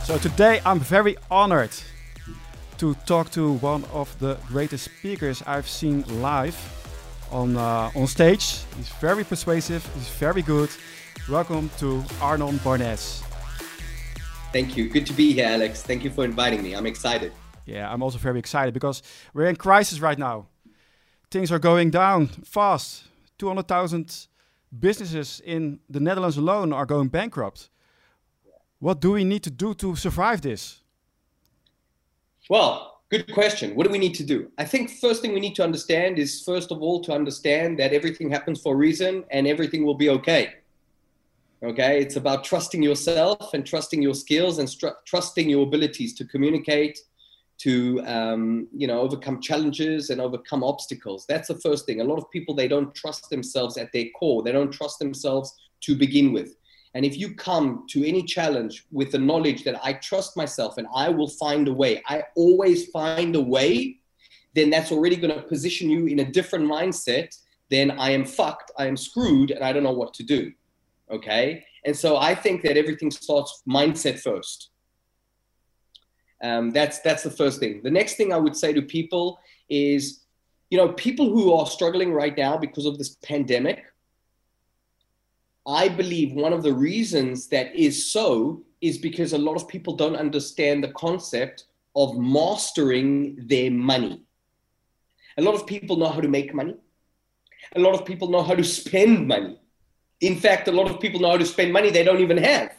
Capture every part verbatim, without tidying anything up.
So today I'm very honored to talk to one of the greatest speakers I've seen live on uh, on stage. He's very persuasive, he's very good. Welcome to Arnon Barnes. Thank you. Good to be here, Alex. Thank you for inviting me. I'm excited. Yeah, I'm also very excited because we're in crisis right now. Things are going down fast. two hundred thousand businesses in the Netherlands alone are going bankrupt. What do we need to do to survive this? Well, good question. What do we need to do? I think first thing we need to understand is, first of all, to understand that everything happens for a reason and everything will be okay. Okay, it's about trusting yourself and trusting your skills and trusting your abilities to communicate, to um, you know, overcome challenges and overcome obstacles. That's the first thing. A lot of people, they don't trust themselves at their core. They don't trust themselves to begin with. And if you come to any challenge with the knowledge that I trust myself and I will find a way, I always find a way, then that's already going to position you in a different mindset than I am fucked, I am screwed, and I don't know what to do. Okay? And so I think that everything starts mindset first. Um, that's, that's the first thing. The next thing I would say to people is, you know, people who are struggling right now because of this pandemic, I believe one of the reasons that is so is because a lot of people don't understand the concept of mastering their money. A lot of people know how to make money. A lot of people know how to spend money. In fact, a lot of people know how to spend money they don't even have.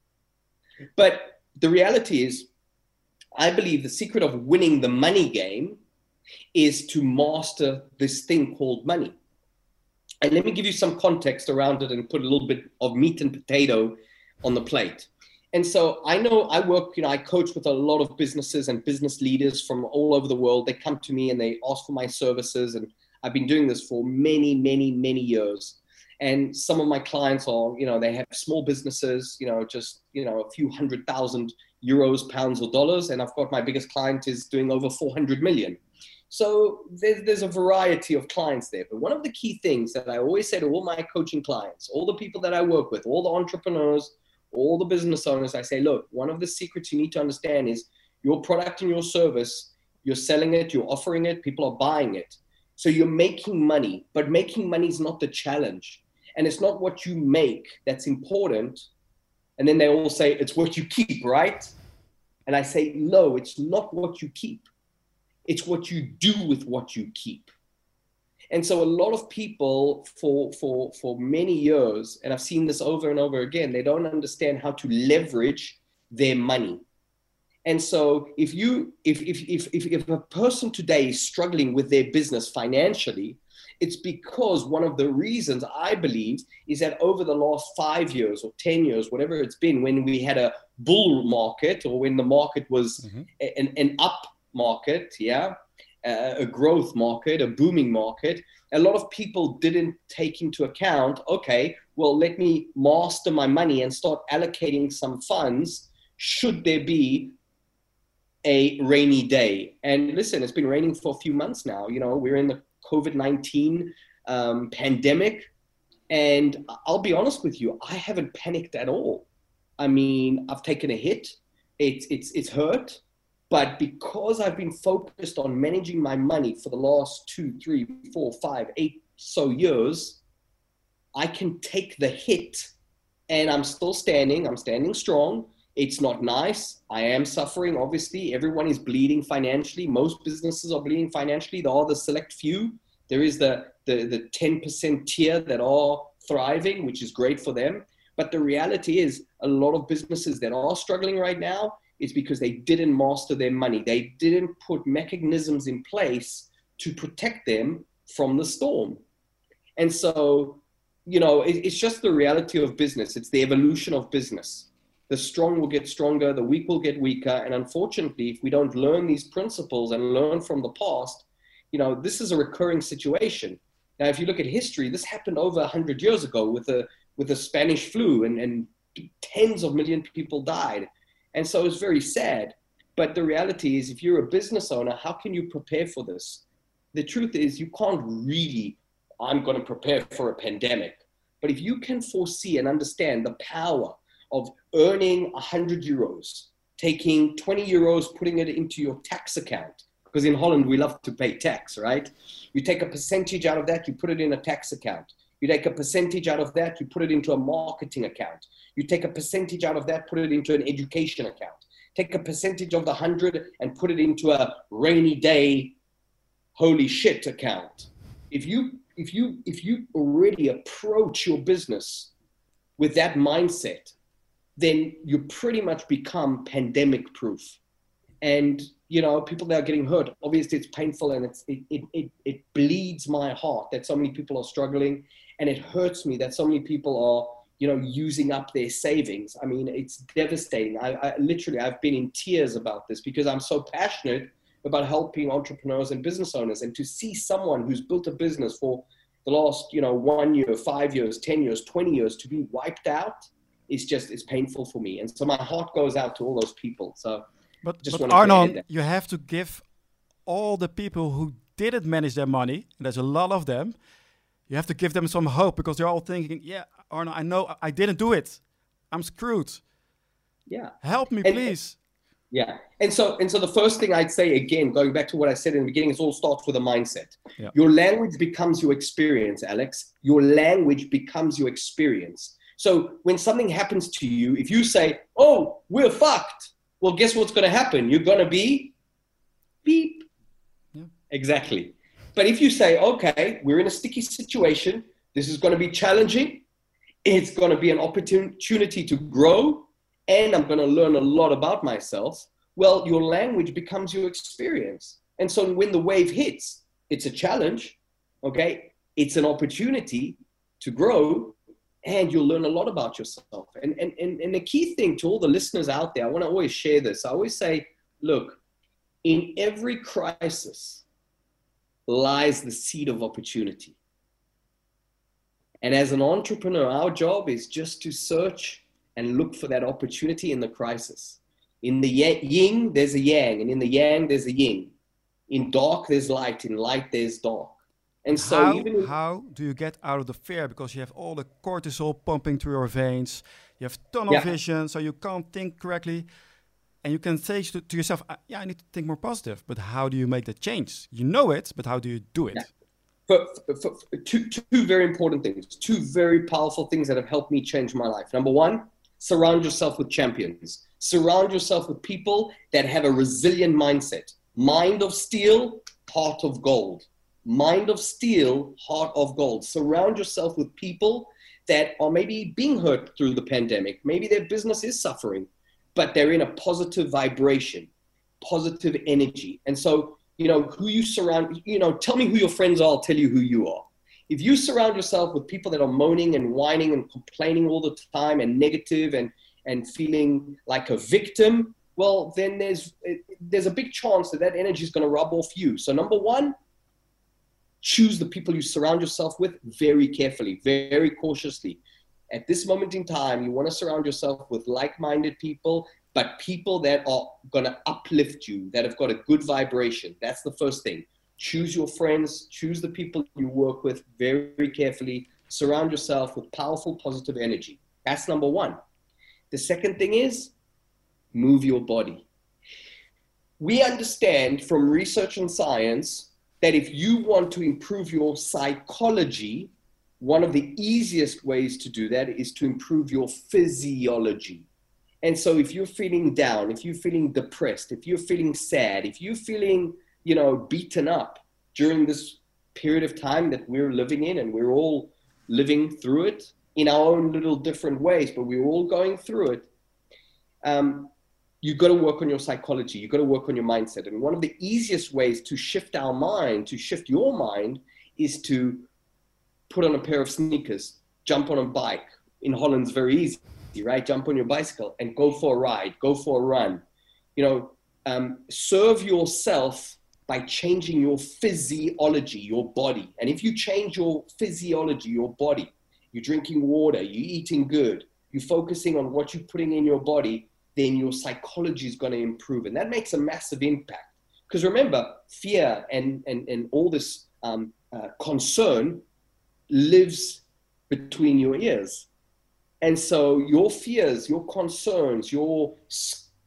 But the reality is, I believe the secret of winning the money game is to master this thing called money. And let me give you some context around it and put a little bit of meat and potato on the plate. And so I know I work, you know, I coach with a lot of businesses and business leaders from all over the world. They come to me and they ask for my services. And I've been doing this for many, many, many years. And some of my clients are, you know, they have small businesses, you know, just, you know, a few hundred thousand euros, pounds or dollars. And I've got my biggest client is doing over four hundred million. So there's, there's a variety of clients there. But one of the key things that I always say to all my coaching clients, all the people that I work with, all the entrepreneurs, all the business owners, I say, look, one of the secrets you need to understand is your product and your service, you're selling it, you're offering it, people are buying it. So you're making money, but making money is not the challenge. And it's not what you make that's important. And then they all say, it's what you keep, right? And I say, no, it's not what you keep. It's what you do with what you keep. And so a lot of people for, for, for many years, and I've seen this over and over again, they don't understand how to leverage their money. And so if you, if, if, if, if, if a person today is struggling with their business financially, it's because one of the reasons I believe is that over the last five years or ten years, whatever it's been, when we had a bull market or when the market was mm-hmm. an, an up market, yeah, uh, a growth market, a booming market, a lot of people didn't take into account, okay, well, let me master my money and start allocating some funds should there be a rainy day. And listen, it's been raining for a few months now. You know, we're in the COVID nineteen um, pandemic. And I'll be honest with you, I haven't panicked at all. I mean, I've taken a hit. It's, it's, it's hurt. But because I've been focused on managing my money for the last two, three, four, five, eight so years, I can take the hit and I'm still standing. I'm standing strong. It's not nice. I am suffering, obviously. Everyone is bleeding financially. Most businesses are bleeding financially. There are the select few. There is the, the, the ten percent tier that are thriving, which is great for them. But the reality is a lot of businesses that are struggling right now is because they didn't master their money. They didn't put mechanisms in place to protect them from the storm. And so, you know, it, it's just the reality of business. It's the evolution of business. The strong will get stronger, the weak will get weaker. And unfortunately, if we don't learn these principles and learn from the past, you know, this is a recurring situation. Now, if you look at history, this happened over one hundred years ago with the, with the Spanish flu, and, and tens of million people died. And so it's very sad. But the reality is, if you're a business owner, how can you prepare for this? The truth is, you can't really, I'm going to prepare for a pandemic. But if you can foresee and understand the power of earning one hundred euros, taking twenty euros, putting it into your tax account. Because in Holland, we love to pay tax, right? You take a percentage out of that, you put it in a tax account. You take a percentage out of that, you put it into a marketing account. You take a percentage out of that, put it into an education account. Take a percentage of the hundred and put it into a rainy day, holy shit account. If you, if you, if you already approach your business with that mindset, then you pretty much become pandemic proof. And, you know, people that are getting hurt, obviously it's painful and it's, it, it, it, it bleeds my heart that so many people are struggling. And it hurts me that so many people are, you know, using up their savings. I mean, it's devastating. I, I literally, I've been in tears about this because I'm so passionate about helping entrepreneurs and business owners. And to see someone who's built a business for the last, you know, one year, five years, ten years, twenty years to be wiped out is just, it's painful for me. And so my heart goes out to all those people. So But, just but wanted to add Arnon, that. you have to give all the people who didn't manage their money, and there's a lot of them, you have to give them some hope because they're all thinking, yeah, Arnon, I know I didn't do it. I'm screwed. Yeah. Help me, And- please. Yeah. And so, and so the first thing I'd say, again, going back to what I said in the beginning, it all starts with a mindset. Yeah. Your language becomes your experience, Alex. Your language becomes your experience. So when something happens to you, if you say, oh, we're fucked, well, guess what's going to happen? You're going to be beep. Yeah. Exactly. But if you say, okay, we're in a sticky situation, this is going to be challenging, it's going to be an opportunity to grow, and I'm going to learn a lot about myself, well, your language becomes your experience. And so when the wave hits, it's a challenge, okay? It's an opportunity to grow, and you'll learn a lot about yourself. And, and, and, and the key thing to all the listeners out there, I want to always share this. I always say, look, in every crisis lies the seed of opportunity. And as an entrepreneur, our job is just to search and look for that opportunity in the crisis. In the yin, there's a yang, and in the yang, there's a yin. In dark, there's light. In light, there's dark. And so how, even in- how do you get out of the fear? Because you have all the cortisol pumping through your veins. You have tunnel Yeah. vision, so you can't think correctly. And you can say to, to yourself, "Uh, yeah, I need to think more positive. But how do you make that change? You know it, but how do you do it? Yeah. For, for, for two, two very important things, two very powerful things that have helped me change my life. Number one, surround yourself with champions. Surround yourself with people that have a resilient mindset. Mind of steel, heart of gold. Mind of steel, heart of gold. Surround yourself with people that are maybe being hurt through the pandemic. Maybe their business is suffering, but they're in a positive vibration, positive energy. And so, you know, who you surround, you know, tell me who your friends are, I'll tell you who you are. If you surround yourself with people that are moaning and whining and complaining all the time and negative and, and feeling like a victim, well, then there's, there's a big chance that that energy is going to rub off you. So number one, choose the people you surround yourself with very carefully, very cautiously. At this moment in time, you want to surround yourself with like-minded people, but people that are going to uplift you, that have got a good vibration. That's the first thing. Choose your friends, choose the people you work with very, very carefully. Surround yourself with powerful, positive energy. That's number one. The second thing is move your body. We understand from research and science that if you want to improve your psychology, one of the easiest ways to do that is to improve your physiology. And so if you're feeling down, if you're feeling depressed, if you're feeling sad, if you're feeling, you know, beaten up during this period of time that we're living in, and we're all living through it in our own little different ways, but we're all going through it, um, you've got to work on your psychology. You've got to work on your mindset. And one of the easiest ways to shift our mind, to shift your mind, is to put on a pair of sneakers, jump on a bike. In Holland, it's very easy, right? Jump on your bicycle and go for a ride, go for a run. You know, um, serve yourself by changing your physiology, your body. And if you change your physiology, your body, you're drinking water, you're eating good, you're focusing on what you're putting in your body, then your psychology is going to improve. And that makes a massive impact. Because remember, fear and, and, and all this um, uh, concern lives between your ears. And so your fears, your concerns, your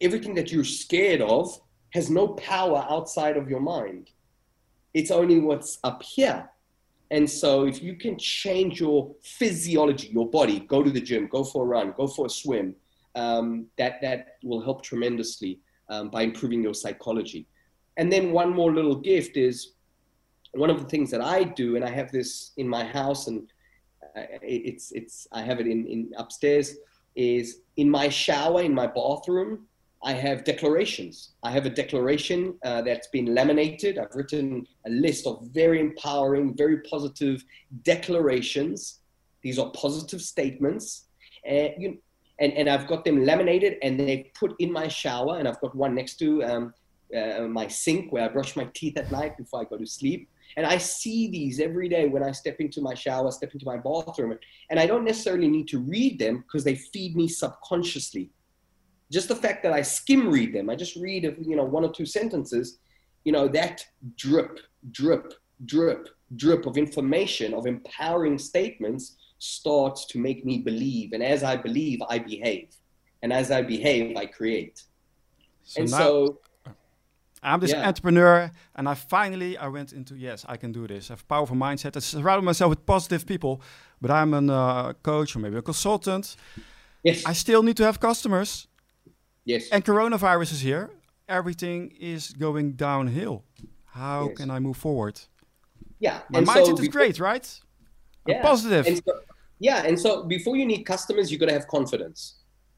everything that you're scared of has no power outside of your mind. It's only what's up here. And so if you can change your physiology, your body, go to the gym, go for a run, go for a swim, um, that, that will help tremendously um, by improving your psychology. And then one more little gift is one of the things that I do, and I have this in my house, and it's, it's, I have it in, in upstairs, is in my shower, in my bathroom, I have declarations. I have a declaration uh, that's been laminated. I've written a list of very empowering, very positive declarations. These are positive statements. And, you, and, and I've got them laminated and they put in my shower. And I've got one next to um, uh, my sink where I brush my teeth at night before I go to sleep. And I see these every day when I step into my shower, step into my bathroom. And I don't necessarily need to read them because they feed me subconsciously. Just the fact that I skim read them, I just read, you know, one or two sentences, you know, that drip, drip, drip, drip of information, of empowering statements starts to make me believe. And as I believe, I behave. And as I behave, I create. So and now so... I'm this yeah. entrepreneur, and I finally, I went into, yes, I can do this. I have a powerful mindset. I surround myself with positive people, but I'm a uh, coach or maybe a consultant. Yes. I still need to have customers. Yes. And coronavirus is here. Everything is going downhill. How yes. can I move forward? Yeah. My and mindset so is before, great, right? Yeah. I'm positive. And so, yeah. And so before you need customers, you got to have confidence.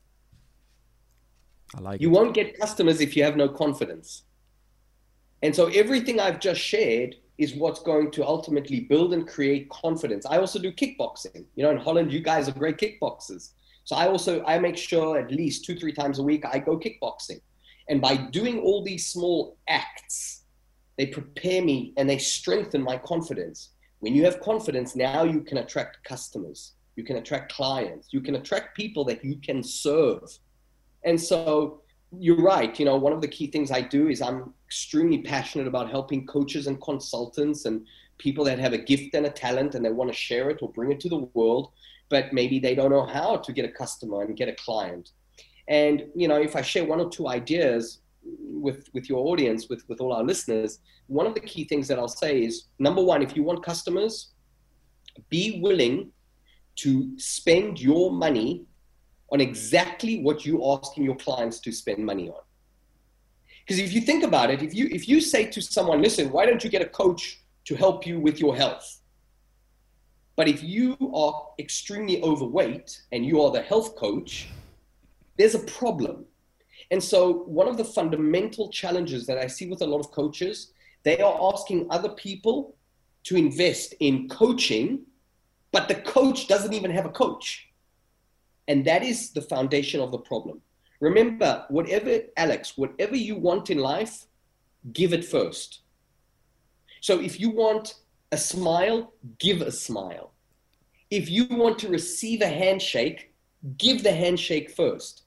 I like you it. won't get customers if you have no confidence. And so everything I've just shared is what's going to ultimately build and create confidence. I also do kickboxing. You know, in Holland, you guys are great kickboxers. So I also, I make sure at least two, three times a week, I go kickboxing. And by doing all these small acts, they prepare me and they strengthen my confidence. When you have confidence, now you can attract customers. You can attract clients. You can attract people that you can serve. And so you're right. You know, one of the key things I do is I'm extremely passionate about helping coaches and consultants and people that have a gift and a talent and they want to share it or bring it to the world, but maybe they don't know how to get a customer and get a client. And, you know, if I share one or two ideas with, with your audience, with, with all our listeners, one of the key things that I'll say is, number one, if you want customers, be willing to spend your money on exactly what you're asking your clients to spend money on. Because if you think about it, if you, if you say to someone, listen, why don't you get a coach to help you with your health? But if you are extremely overweight and you are the health coach, there's a problem. And so one of the fundamental challenges that I see with a lot of coaches, they are asking other people to invest in coaching, but the coach doesn't even have a coach. And that is the foundation of the problem. Remember, whatever, Alex, whatever you want in life, give it first. So if you want a smile, give a smile. If you want to receive a handshake, give the handshake first.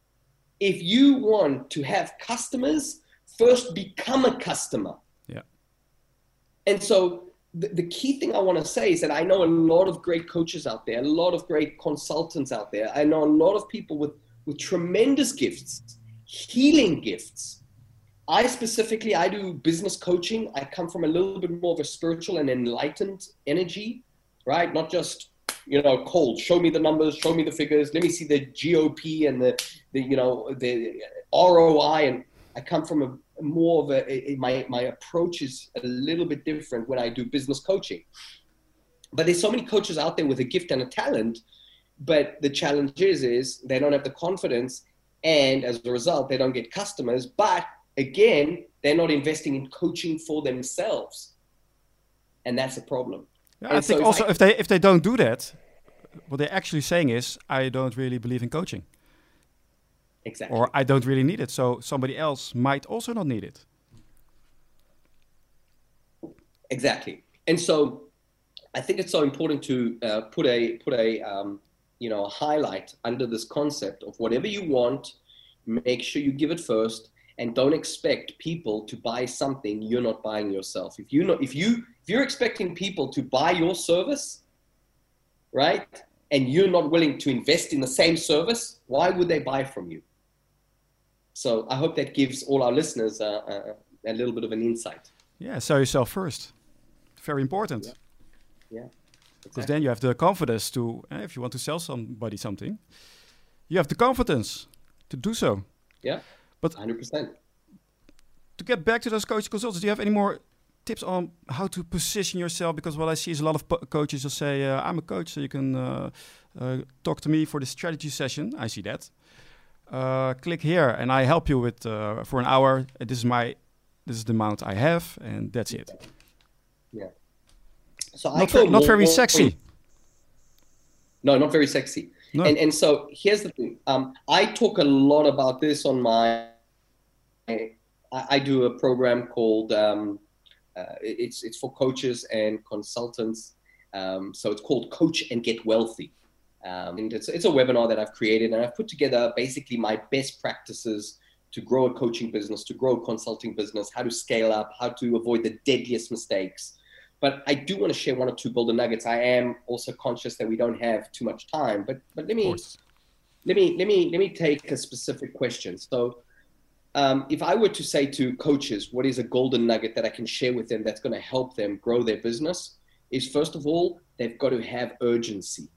If you want to have customers, first become a customer. Yeah. And so the, the key thing I want to say is that I know a lot of great coaches out there, a lot of great consultants out there. I know a lot of people with, with tremendous gifts, healing gifts. I specifically, I do business coaching. I come from a little bit more of a spiritual and enlightened energy, right? Not just, you know, cold, show me the numbers, show me the figures, let me see the G O P and the, the you know, the R O I. And I come from a more of a, a my, my approach is a little bit different when I do business coaching. But there's so many coaches out there with a gift and a talent, but the challenge is, is they don't have the confidence, and as a result, they don't get customers. But again, they're not investing in coaching for themselves. And that's a problem. Yeah, and I think so also if, I, if they if they don't do that, what they're actually saying is, I don't really believe in coaching. Exactly. Or I don't really need it, so somebody else might also not need it. Exactly. And so I think it's so important to uh, put a put a um, you know a highlight under this concept of whatever you want, make sure you give it first, and don't expect people to buy something you're not buying yourself. If you know if you if you're expecting people to buy your service, right, and you're not willing to invest in the same service, why would they buy from you? So I hope that gives all our listeners uh, uh, a little bit of an insight. Yeah, sell yourself first. Very important. Yeah. Yeah. Because exactly. Then you have the confidence to, uh, if you want to sell somebody something, you have the confidence to do so. Yeah, but one hundred percent. To get back to those coach consultants, do you have any more tips on how to position yourself? Because what I see is a lot of po- coaches will say, uh, I'm a coach, so you can uh, uh, talk to me for the strategy session. I see that. Uh, click here and I help you with uh, for an hour. This is my, this is the amount I have, and that's it. Yeah. So not, I ver- not very more, sexy. No, not very sexy. No. And and so here's the thing. Um, I talk a lot about this on my. I, I do a program called. Um, uh, it's it's for coaches and consultants. Um, so it's called Coach and Get Wealthy. Um, and it's it's a webinar that I've created, and I've put together basically my best practices to grow a coaching business, to grow a consulting business, how to scale up, how to avoid the deadliest mistakes. But I do want to share one or two golden nuggets. I am also conscious that we don't have too much time. But but let me let me let me let me take a specific question. So, um, if I were to say to coaches, what is a golden nugget that I can share with them that's going to help them grow their business? Is first of all, they've got to have urgency.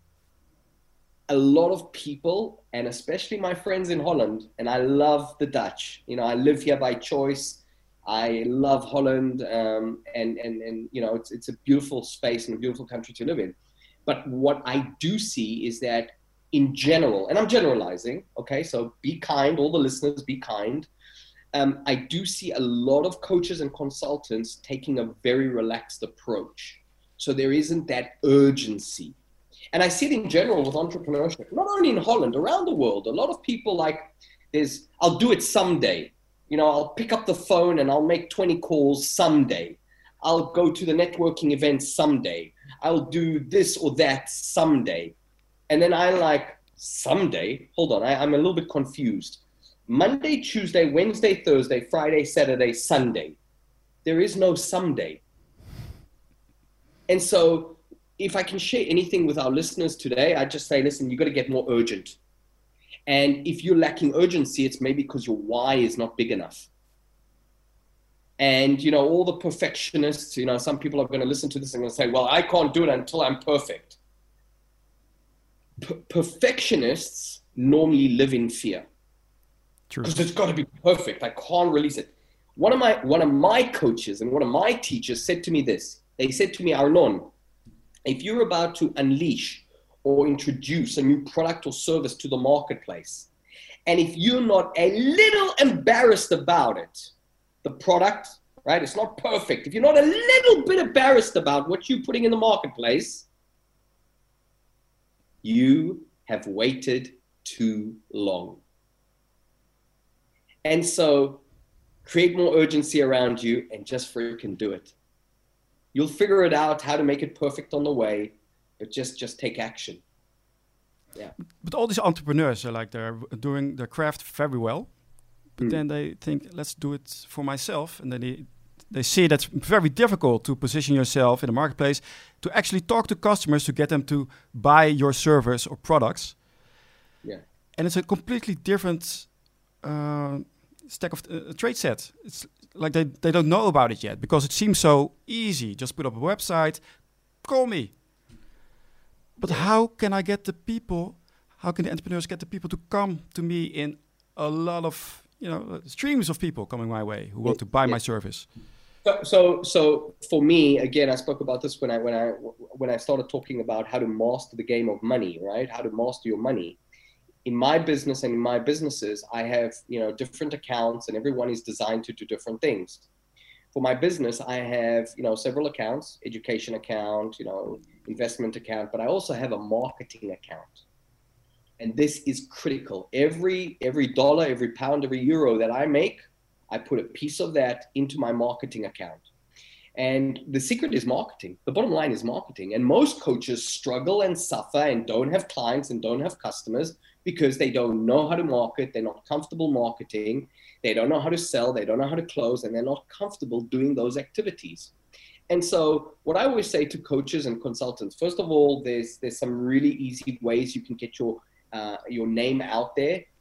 A lot of people, and especially my friends in Holland, and I love the Dutch. You know, I live here by choice. I love Holland, um, and, and, and, you know, it's, it's a beautiful space and a beautiful country to live in. But what I do see is that in general, and I'm generalizing, okay, so be kind, all the listeners, be kind. Um, I do see a lot of coaches and consultants taking a very relaxed approach. So there isn't that urgency. And I see it in general with entrepreneurship, not only in Holland, around the world. A lot of people like, there's, I'll do it someday. You know, I'll pick up the phone and I'll make twenty calls someday. I'll go to the networking event someday. I'll do this or that someday. And then I like, someday? Hold on, I, I'm a little bit confused. Monday, Tuesday, Wednesday, Thursday, Friday, Saturday, Sunday. There is no someday. And so if I can share anything with our listeners today, I just say, listen, you got to get more urgent. And if you're lacking urgency, it's maybe because your why is not big enough. And, you know, all the perfectionists, you know, some people are going to listen to this and going to say, well, I can't do it until I'm perfect. P- perfectionists normally live in fear. True. Because it's got to be perfect. I can't release it. One of my, one of my coaches and one of my teachers said to me this. They said to me, Arnon, if you're about to unleash or introduce a new product or service to the marketplace, and if you're not a little embarrassed about it, the product, right, it's not perfect. If you're not a little bit embarrassed about what you're putting in the marketplace, you have waited too long. And so create more urgency around you and just freaking do it. You'll figure it out how to make it perfect on the way, but just, just take action. Yeah. But all these entrepreneurs are like they're doing their craft very well, but mm. then they think, let's do it for myself. And then they, they see that's very difficult to position yourself in the marketplace, to actually talk to customers to get them to buy your service or products. Yeah. And it's a completely different uh, stack of uh, trade set. It's like they, they don't know about it yet because it seems so easy. Just put up a website, call me. But how can I get the people, how can the entrepreneurs get the people to come to me in a lot of, you know, streams of people coming my way who want to buy yeah. my service? So, so, so for me, again, I spoke about this when I, when I, when I started talking about how to master the game of money, right? How to master your money. In my business and in my businesses, I have, you know, different accounts and everyone is designed to do different things. For my business, I have, you know, several accounts, education account, you know, investment account, but I also have a marketing account. And this is critical. Every, every dollar, every pound, every euro that I make, I put a piece of that into my marketing account. And the secret is marketing. The bottom line is marketing. And most coaches struggle and suffer and don't have clients and don't have customers because they don't know how to market. They're not comfortable marketing. They don't know how to sell. They don't know how to close, and they're not comfortable doing those activities. And so what I always say to coaches and consultants, first of all, there's there's some really easy ways you can get your uh, your name out there.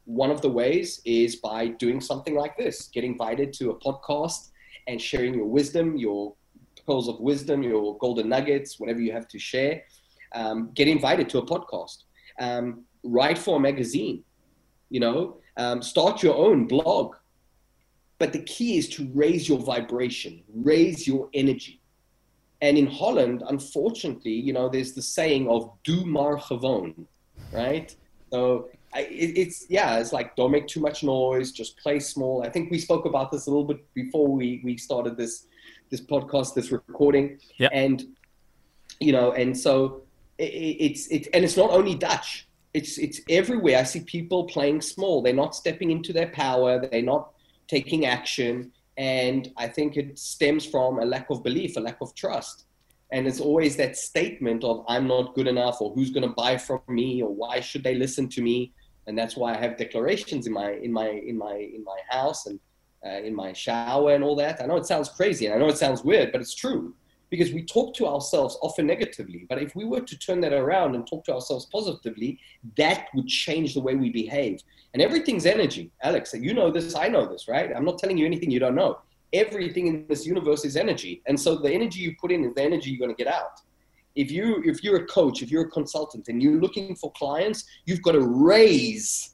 one of the ways is by doing something like this, getting invited to a podcast and sharing your wisdom, your pearls of wisdom, your golden nuggets, whatever you have to share. Um, get invited to a podcast. Um, write for a magazine, you know, um, start your own blog. But the key is to raise your vibration, raise your energy. And in Holland, unfortunately, you know, there's the saying of "doe maar gewoon," right? So I, it, it's, yeah, it's like, don't make too much noise, just play small. I think we spoke about this a little bit before we, we started this, this podcast, this recording. Yeah. And, you know, and so it, it's, it's, and it's not only Dutch, it's, it's everywhere. I see people playing small. They're not stepping into their power. They're not taking action. And I think it stems from a lack of belief, a lack of trust. And it's always that statement of I'm not good enough, or who's going to buy from me, or why should they listen to me? And that's why I have declarations in my in my in my in my house and uh, in my shower and all that. I know it sounds crazy and I know it sounds weird, but it's true, because we talk to ourselves often negatively. But if we were to turn that around and talk to ourselves positively, that would change the way we behave. And everything's energy. Alex, you know this, I know this, right? I'm not telling you anything you don't know. Everything in this universe is energy. And so the energy you put in is the energy you're going to get out. If, you, if you're a coach, if you're a consultant and you're looking for clients, you've got to raise,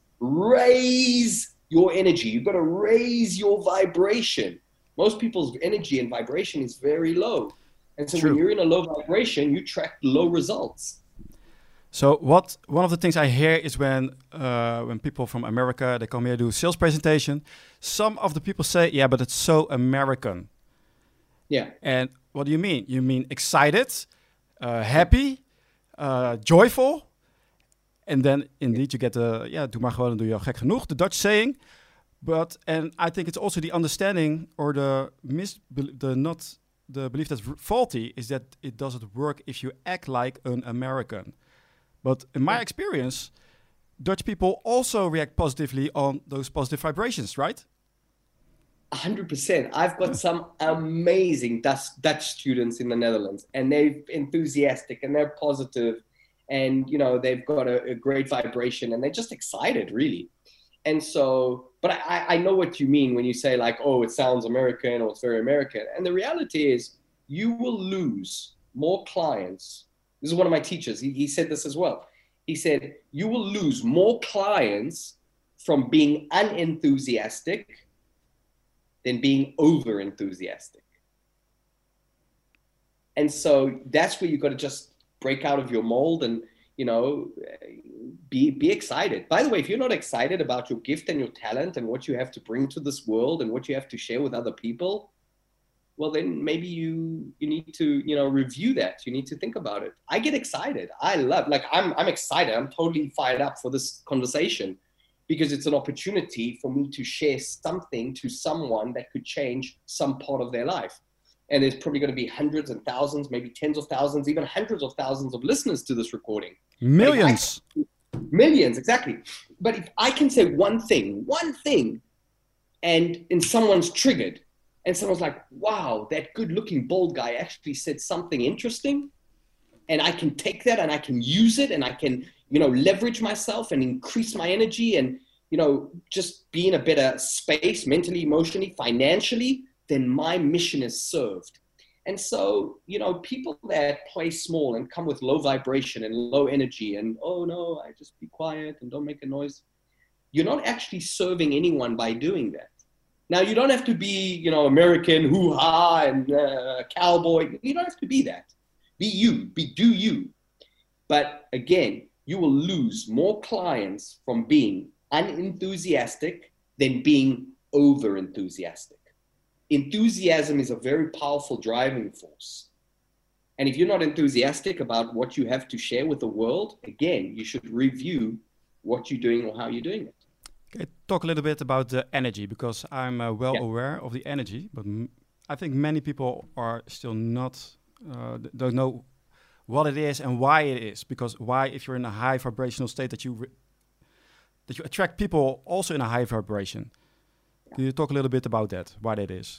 raise your energy. You've got to raise your vibration. Most people's energy and vibration is very low. And so True. when you're in a low vibration, you track low results. So what one of the things I hear is when uh, when people from America, they come here do sales presentation, some of the people say, yeah, but it's so American. Yeah. And what do you mean? You mean excited, uh, happy, uh, joyful. And then indeed you get the, yeah, doe maar gewoon en doe je al gek genoeg, the Dutch saying. But, and I think it's also the understanding or the mis, the not, the belief that's faulty is that it doesn't work if you act like an American. But in my experience, Dutch people also react positively on those positive vibrations, right? one hundred percent. I've got some amazing Dutch, Dutch students in the Netherlands, and they're enthusiastic and they're positive, and you know they've got a, a great vibration and they're just excited, really. And so, but I, I know what you mean when you say like, oh, it sounds American or it's very American. And the reality is you will lose more clients. This is one of my teachers. He, he said this as well. He said, you will lose more clients from being unenthusiastic than being over enthusiastic. And so that's where you've got to just break out of your mold and, you know, be, be excited. By the way, if you're not excited about your gift and your talent and what you have to bring to this world and what you have to share with other people, well, then maybe you you need to, you know, review that. You need to think about it. I get excited. I love, like, I'm I'm excited. I'm totally fired up for this conversation because it's an opportunity for me to share something to someone that could change some part of their life. And there's probably going to be hundreds and thousands, maybe tens of thousands, even hundreds of thousands of listeners to this recording. Millions. I, millions, exactly. But if I can say one thing, one thing, and, and someone's triggered, and someone's like, wow, that good-looking bald guy actually said something interesting, and I can take that and I can use it and I can, you know, leverage myself and increase my energy and, you know, just be in a better space mentally, emotionally, financially, then my mission is served. And so, you know, people that play small and come with low vibration and low energy and, oh, no, I just be quiet and don't make a noise, you're not actually serving anyone by doing that. Now, you don't have to be, you know, American, hoo-ha, and uh, cowboy. You don't have to be that. Be you. Be do you. But again, you will lose more clients from being unenthusiastic than being over-enthusiastic. Enthusiasm is a very powerful driving force. And if you're not enthusiastic about what you have to share with the world, again, you should review what you're doing or how you're doing it. Okay, talk a little bit about the energy, because I'm uh, well yeah. aware of the energy, but m I think many people are still not, uh, don't know what it is and why it is. Because why, if you're in a high vibrational state, that you that you attract people also in a high vibration. Yeah. Can you talk a little bit about that, why that is?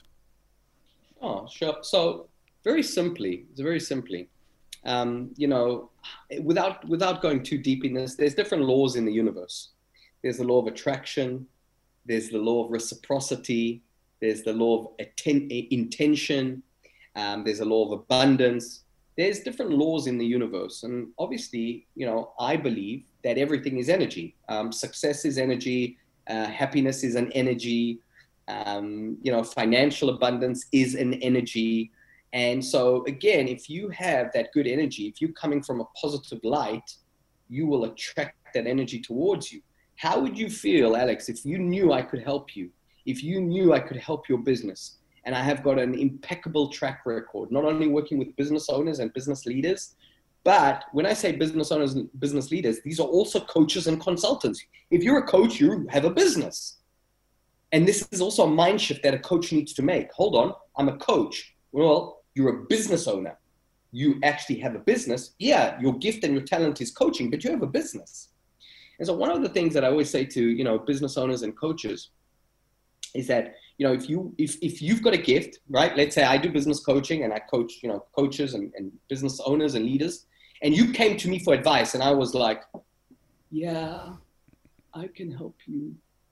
Oh, sure. So very simply, it's very simply, um, you know, without without going too deep in this, there's different laws in the universe. there's the law of attraction, there's the law of reciprocity, there's the law of atten- intention, um, there's a law of abundance. There's different laws in the universe. And obviously, you know, I believe that everything is energy. Um, success is energy. Uh, happiness is an energy. Um, you know, financial abundance is an energy. And so again, if you have that good energy, if you're coming from a positive light, you will attract that energy towards you. How would you feel, Alex, if you knew I could help you, if you knew I could help your business? And I have got an impeccable track record, not only working with business owners and business leaders, but when I say business owners and business leaders, these are also coaches and consultants. If you're a coach, you have a business. And this is also a mind shift that a coach needs to make. Hold on, I'm a coach. Well, you're a business owner. You actually have a business. Yeah, your gift and your talent is coaching, but you have a business. And so one of the things that I always say to, you know, business owners and coaches is that, you know, if you if if you've got a gift, right? Let's say I do business coaching and I coach, you know, coaches and, and business owners and leaders, and you came to me for advice and I was like, yeah, I can help you.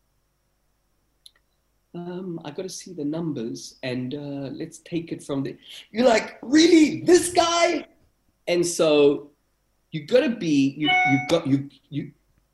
Um, I got to see the numbers and uh, let's take it from the. You're like, really, this guy? And so you got to be you you got you you.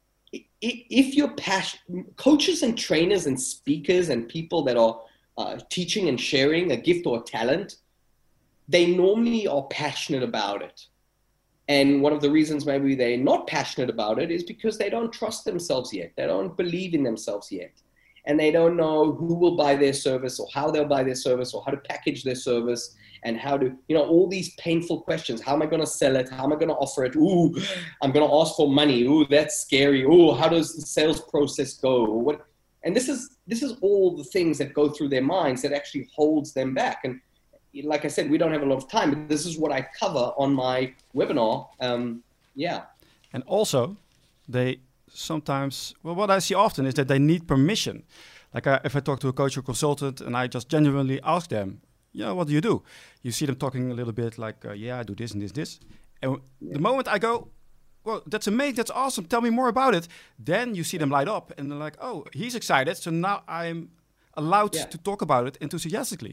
If you're passionate, coaches and trainers and speakers and people that are uh, teaching and sharing a gift or a talent, they normally are passionate about it. And one of the reasons maybe they're not passionate about it is because they don't trust themselves yet. They don't believe in themselves yet. And they don't know who will buy their service or how they'll buy their service or how to package their service and how to, you know, all these painful questions. How am I going to sell it? How am I going to offer it? Ooh, I'm going to ask for money. Ooh, that's scary. Ooh, how does the sales process go? What? And this is, this is all the things that go through their minds that actually holds them back. And like I said, we don't have a lot of time, but this is what I cover on my webinar. Um, yeah. And also they sometimes, well, what I see often is that they need permission. Like I, if I talk to a coach or consultant and I just genuinely ask them, yeah, what do you do? You see them talking a little bit like, uh, yeah, I do this and this, this. And yeah. The moment I go, well, that's amazing, that's awesome, tell me more about it. Then you see them light up and they're like, oh, he's excited. So now I'm allowed yeah. to talk about it enthusiastically.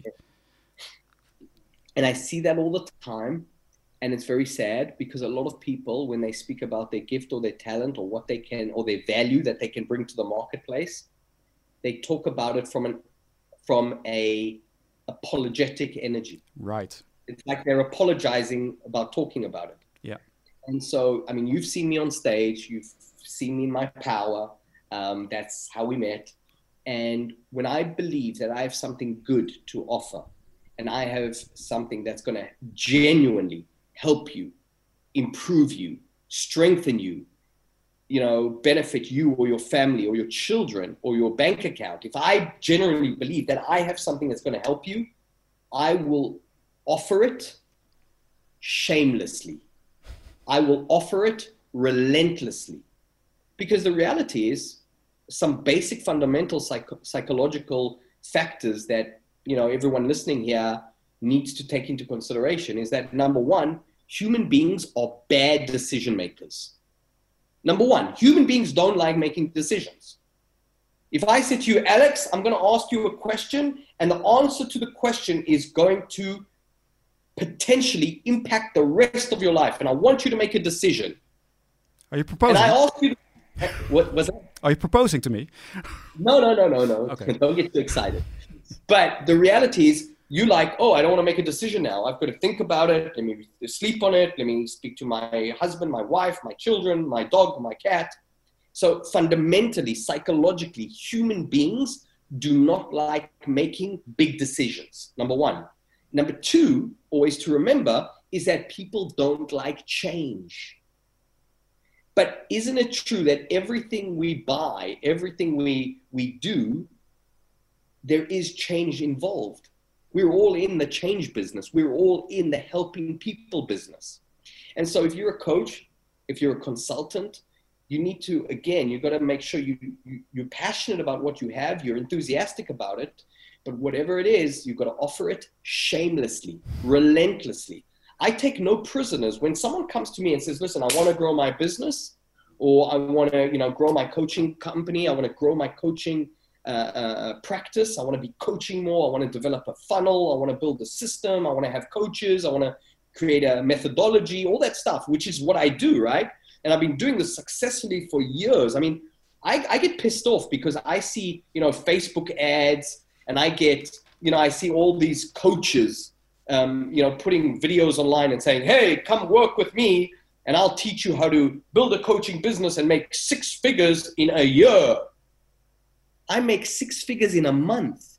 And I see that all the time. And it's very sad because a lot of people, when they speak about their gift or their talent or what they can, or their value that they can bring to the marketplace, they talk about it from an, from a apologetic energy. Right. It's like they're apologizing about talking about it. Yeah. And so, I mean, you've seen me on stage, you've seen me in my power. Um, that's how we met. And when I believe that I have something good to offer, and I have something that's going to genuinely help you, improve you, strengthen you, you know, benefit you or your family or your children or your bank account. If I genuinely believe that I have something that's going to help you, I will offer it shamelessly. I will offer it relentlessly. Because the reality is some basic fundamental psych- psychological factors that, you know, everyone listening here needs to take into consideration is that, number one, human beings are bad decision makers. Number one, human beings don't like making decisions. If I say to you, Alex, I'm going to ask you a question, and the answer to the question is going to potentially impact the rest of your life, and I want you to make a decision. Are you proposing? And I ask you, what was that? Are you proposing to me? No, no, no, no, no. Okay. Don't get too excited. But the reality is, you like, oh, I don't want to make a decision now. I've got to think about it. Let me sleep on it. Let me speak to my husband, my wife, my children, my dog, my cat. So fundamentally, psychologically, human beings do not like making big decisions, number one. Number two, always to remember, is that people don't like change. But isn't it true that everything we buy, everything we, we do, there is change involved? We're all in the change business. We're all in the helping people business. And so if you're a coach, if you're a consultant, you need to, again, you've got to make sure you, you, you're passionate about what you have, you're enthusiastic about it, but whatever it is, you've got to offer it shamelessly, relentlessly. I take no prisoners. When someone comes to me and says, listen, I want to grow my business, or I want to, you know, grow my coaching company. I want to grow my coaching uh, uh, practice. I want to be coaching more. I want to develop a funnel. I want to build a system. I want to have coaches. I want to create a methodology, all that stuff, which is what I do, right? And I've been doing this successfully for years. I mean, I, I get pissed off because I see, you know, Facebook ads, and I get, you know, I see all these coaches, um, you know, putting videos online and saying, hey, come work with me and I'll teach you how to build a coaching business and make six figures in a year. I make six figures in a month.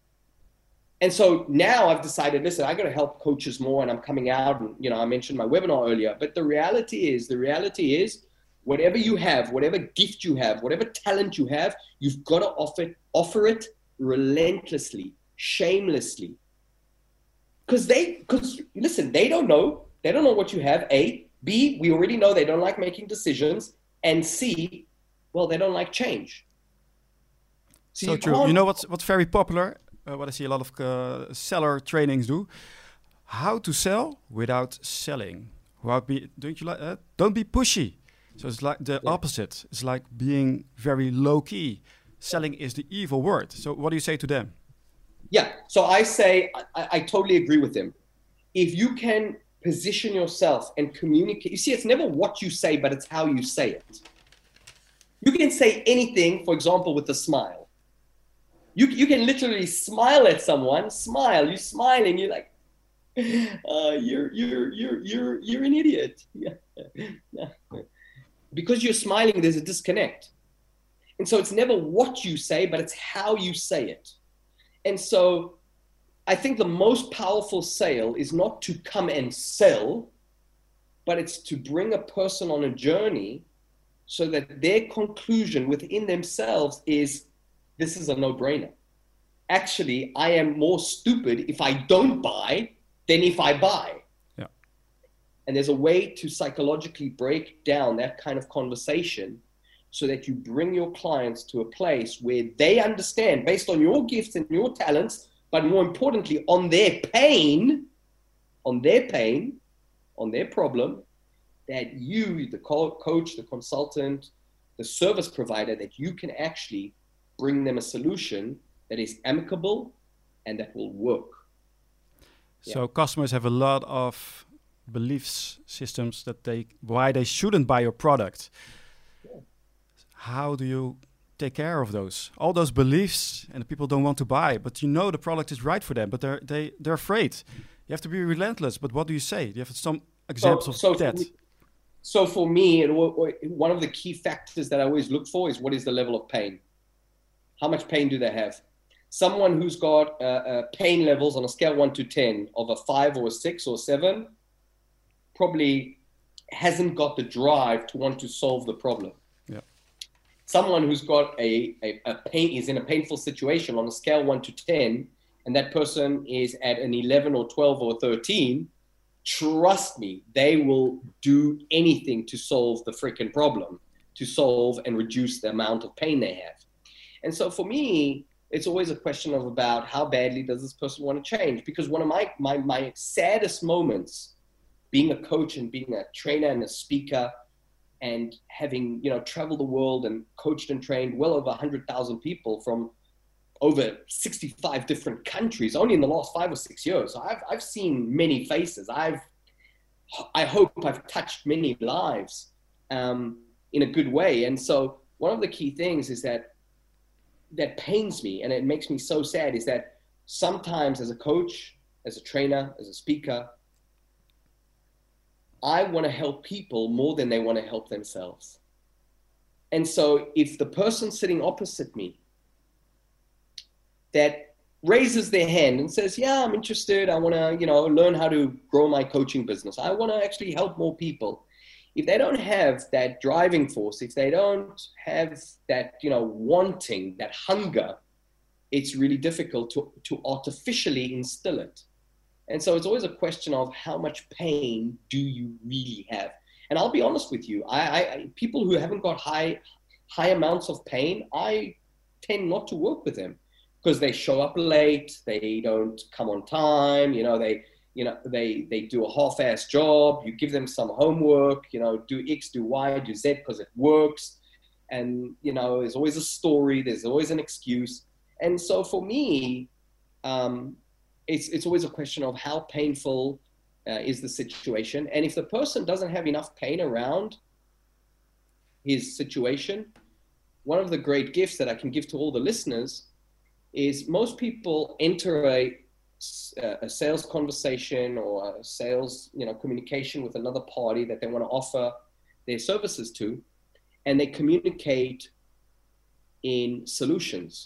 And so now I've decided, listen, I got to help coaches more, and I'm coming out, and, you know, I mentioned my webinar earlier, but the reality is, the reality is whatever you have, whatever gift you have, whatever talent you have, you've got to offer it, offer it relentlessly, shamelessly. Because they, because listen, they don't know, they don't know what you have, A. B, we already know they don't like making decisions. And C, well, they don't like change. So, so you true. You know what's, what's very popular? Uh, what I see a lot of uh, seller trainings do. How to sell without selling. Without be, don't you like that? Uh, don't be pushy. So it's like the yeah. opposite. It's like being very low key. Selling is the evil word. So what do you say to them? Yeah. So I say, I, I totally agree with them. If you can position yourself and communicate, you see, it's never what you say, but it's how you say it. You can say anything, for example, with a smile. You, you can literally smile at someone, smile, you're smiling, you're like, uh, you're, you're, you're, you're, you're an idiot. Yeah. Because you're smiling, there's a disconnect. And so it's never what you say, but it's how you say it. And so I think the most powerful sale is not to come and sell, but it's to bring a person on a journey so that their conclusion within themselves is, this is a no-brainer. Actually, I am more stupid if I don't buy than if I buy. Yeah. And there's a way to psychologically break down that kind of conversation so that you bring your clients to a place where they understand, based on your gifts and your talents, but more importantly, on their pain, on their pain, on their problem, that you, the co- coach, the consultant, the service provider, that you can actually bring them a solution that is amicable and that will work. So yeah. Customers have a lot of beliefs systems that they, why they shouldn't buy your product. Yeah. How do you take care of those, all those beliefs, and the people don't want to buy, but you know the product is right for them, but they're they they're afraid. You have to be relentless. But what do you say? Do you have some examples so, so of that? For me, so for me, one of the key factors that I always look for is, what is the level of pain? How much pain do they have? Someone who's got uh, uh, pain levels on a scale one to ten of a five or a six or seven probably hasn't got the drive to want to solve the problem. Someone who's got a, a, a pain, is in a painful situation on a scale one to ten, and that person is at an eleven or twelve or thirteen, trust me, they will do anything to solve the freaking problem, to solve and reduce the amount of pain they have. And so for me, it's always a question of about how badly does this person want to change? Because one of my, my, my saddest moments being a coach and being a trainer and a speaker and having, you know, traveled the world and coached and trained well over one hundred thousand people from over sixty-five different countries, only in the last five or six years. So I've, I've seen many faces. I've, I hope I've touched many lives um, in a good way. And so one of the key things is that, that pains me and it makes me so sad, is that sometimes as a coach, as a trainer, as a speaker, I want to help people more than they want to help themselves. And so if the person sitting opposite me that raises their hand and says, yeah, I'm interested, I want to, you know, learn how to grow my coaching business, I want to actually help more people. If they don't have that driving force, if they don't have that, you know, wanting, that hunger, it's really difficult to, to artificially instill it. And so it's always a question of how much pain do you really have? And I'll be honest with you, I, I people who haven't got high, high amounts of pain, I tend not to work with them because they show up late, they don't come on time, you know, they, you know, they, they do a half-ass job. You give them some homework, you know, do X, do Y, do Z because it works. And, you know, there's always a story. There's always an excuse. And so for me, um, it's, it's always a question of how painful uh, is the situation. And if the person doesn't have enough pain around his situation, one of the great gifts that I can give to all the listeners is most people enter a, a sales conversation or a sales, you know, communication with another party that they want to offer their services to, and they communicate in solutions.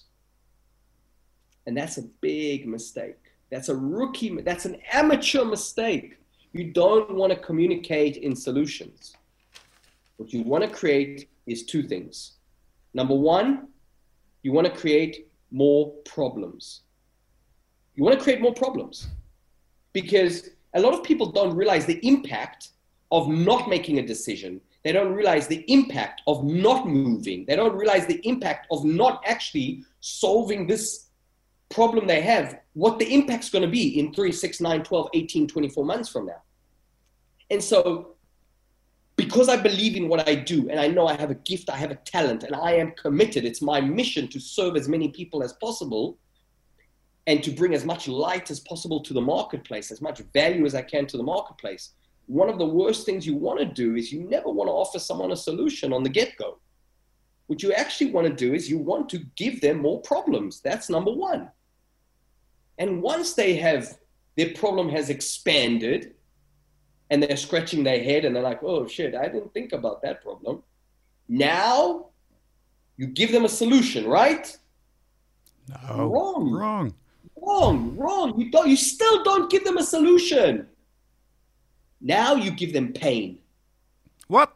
And that's a big mistake. That's a rookie, that's an amateur mistake. You don't want to communicate in solutions. What you want to create is two things. Number one, you want to create more problems. You want to create more problems because a lot of people don't realize the impact of not making a decision. They don't realize the impact of not moving. They don't realize the impact of not actually solving this problem they have, what the impact's going to be in three, six, nine, twelve, eighteen, twenty-four months from now. And so because I believe in what I do and I know I have a gift, I have a talent, and I am committed, it's my mission to serve as many people as possible and to bring as much light as possible to the marketplace, as much value as I can to the marketplace. One of the worst things you want to do is you never want to offer someone a solution on the get-go. What you actually want to do is you want to give them more problems. That's number one. And once they have, their problem has expanded and they're scratching their head and they're like, oh shit, I didn't think about that problem. Now you give them a solution, right? No, wrong, wrong, wrong, wrong. You don't, you still don't give them a solution. Now you give them pain. What?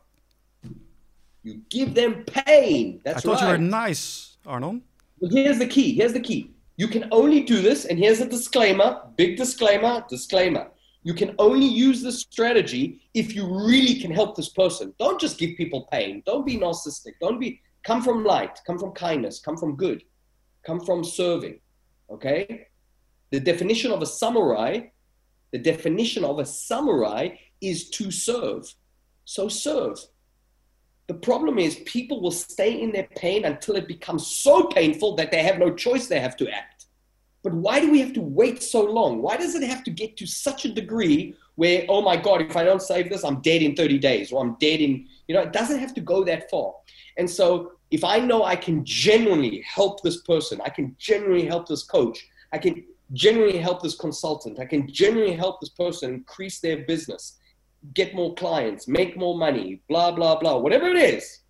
You give them pain. That's right. I thought right. you were nice, Arnon. Well, here's the key. Here's the key. You can only do this, and here's a disclaimer, big disclaimer, disclaimer. You can only use this strategy if you really can help this person. Don't just give people pain. Don't be narcissistic. Don't be, come from light, come from kindness, come from good, come from serving, okay? The definition of a samurai, the definition of a samurai is to serve. So serve. The problem is people will stay in their pain until it becomes so painful that they have no choice, they have to act. But why do we have to wait so long? Why does it have to get to such a degree where, oh my God, if I don't save this, I'm dead in thirty days or I'm dead in, you know, it doesn't have to go that far. And so if I know I can genuinely help this person, I can genuinely help this coach, I can genuinely help this consultant, I can genuinely help this person increase their business, get more clients, make more money, blah, blah, blah, whatever it is,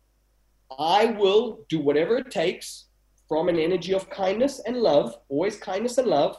I will do whatever it takes from an energy of kindness and love, always kindness and love,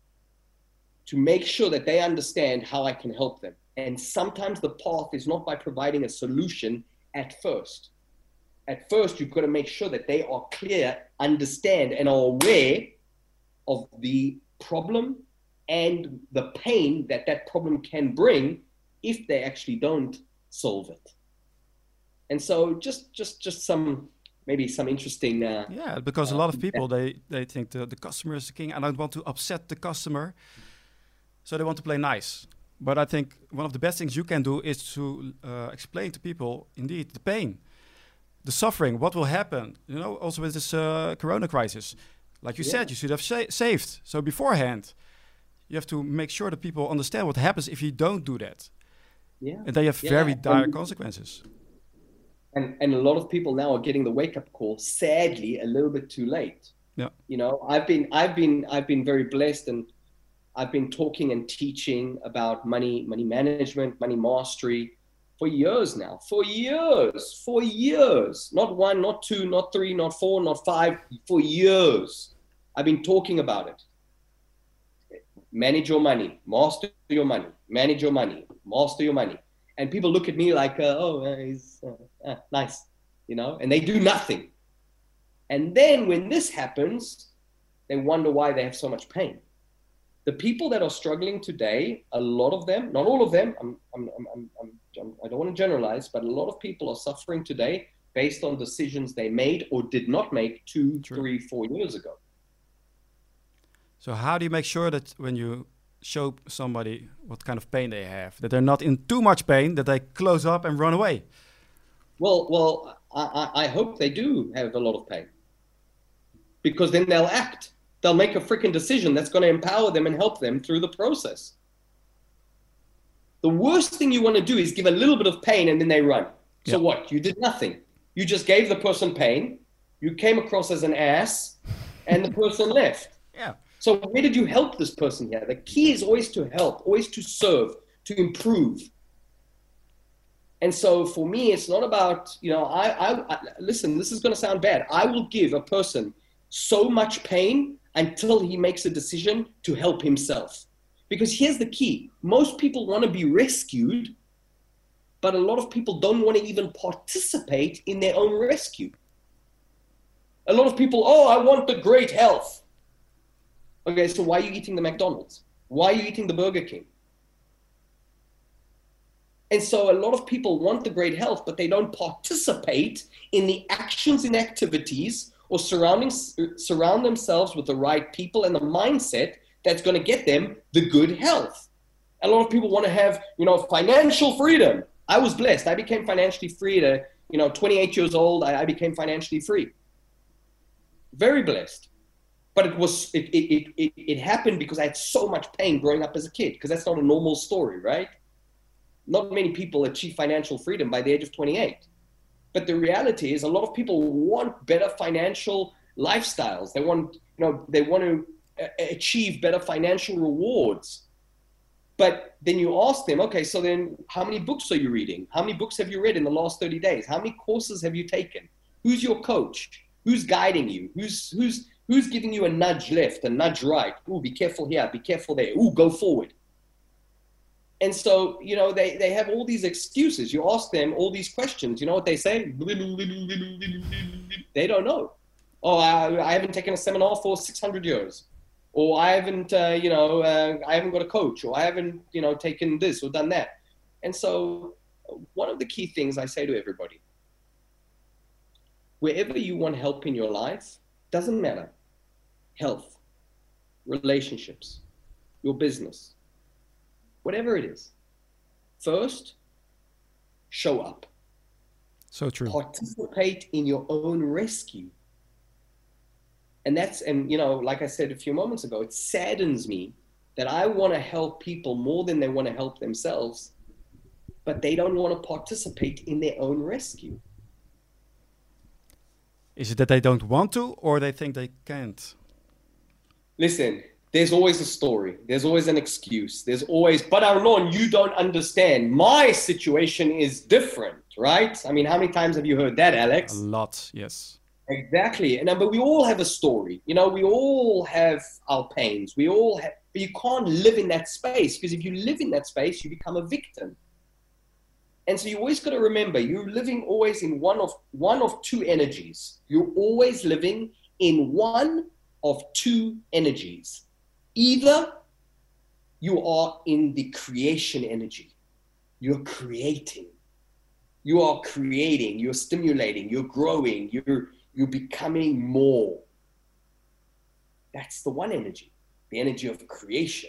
to make sure that they understand how I can help them. And sometimes the path is not by providing a solution at first. At first, you've got to make sure that they are clear, understand, and are aware of the problem and the pain that that problem can bring if they actually don't solve it. And so just just just some maybe some interesting uh, yeah, because uh, a lot of people they they think the, the customer is the king. I don't want to upset the customer, so they want to play nice. But I think one of the best things you can do is to uh, explain to people indeed the pain, the suffering, what will happen, you know, also with this uh, corona crisis. Like you yeah. said, you should have sa saved. So beforehand, you have to make sure that people understand what happens if you don't do that. Yeah. And they have yeah. very dire and, consequences. And and a lot of people now are getting the wake-up call, sadly, a little bit too late. Yeah. You know, I've been I've been I've been very blessed, and I've been talking and teaching about money, money management, money mastery for years now. For years, for years. Not one, not two, not three, not four, not five, for years. I've been talking about it. Manage your money, master your money, manage your money, master your money. And people look at me like, uh, oh, uh, he's uh, uh, nice, you know, and they do nothing. And then when this happens, they wonder why they have so much pain. The people that are struggling today, a lot of them, not all of them, I'm, I'm, I'm, I'm, I'm, I don't want to generalize, but a lot of people are suffering today based on decisions they made or did not make two, True. three, four years ago. So how do you make sure that when you show somebody what kind of pain they have, that they're not in too much pain, that they close up and run away? Well, well, I, I hope they do have a lot of pain, because then they'll act. They'll make a freaking decision that's going to empower them and help them through the process. The worst thing you want to do is give a little bit of pain and then they run. So yeah. What? You did nothing. You just gave the person pain. You came across as an ass and the person left. Yeah. So where did you help this person here? The key is always to help, always to serve, to improve. And so for me, it's not about, you know, I, I, I listen, this is going to sound bad. I will give a person so much pain until he makes a decision to help himself. Because here's the key. Most people want to be rescued, but a lot of people don't want to even participate in their own rescue. A lot of people, oh, I want the great health. Okay, so why are you eating the McDonald's? Why are you eating the Burger King? And so a lot of people want the great health, but they don't participate in the actions and activities or surrounding, surround themselves with the right people and the mindset that's going to get them the good health. A lot of people want to have, you know, financial freedom. I was blessed. I became financially free at, you know, twenty-eight years old. I, I became financially free. Very blessed. But it was it, it, it, it happened because I had so much pain growing up as a kid, because that's not a normal story, right? Not many people achieve financial freedom by the age of twenty-eight. But the reality is a lot of people want better financial lifestyles. They want, you know, they want to achieve better financial rewards. But then you ask them, okay, so then how many books are you reading? How many books have you read in the last thirty days? How many courses have you taken? Who's your coach? Who's guiding you? Who's who's who's giving you a nudge left, a nudge right? Ooh, be careful here, be careful there. Ooh, go forward. And so, you know, they, they have all these excuses. You ask them all these questions. You know what they say? They don't know. Oh, I, I haven't taken a seminar for six hundred years. Or I haven't, uh, you know, uh, I haven't got a coach. Or I haven't, you know, taken this or done that. And so one of the key things I say to everybody, wherever you want help in your life, doesn't matter. Health, relationships, your business, whatever it is. First, show up. So true. Participate in your own rescue. And that's, and you know, like I said a few moments ago, it saddens me that I want to help people more than they want to help themselves, but they don't want to participate in their own rescue. Is it that they don't want to, or they think they can't? Listen, there's always a story. There's always an excuse. There's always, but Arnon, you don't understand. My situation is different, right? I mean, how many times have you heard that, Alex? A lot, yes. Exactly. And but we all have a story. You know, we all have our pains. We all have, but you can't live in that space, because if you live in that space, you become a victim. And so you always got to remember, you're living always in one of one of two energies. You're always living in one of two energies. Either you are in the creation energy. You're creating. You are creating, you're stimulating, you're growing, you're you're becoming more. That's the one energy, the energy of creation.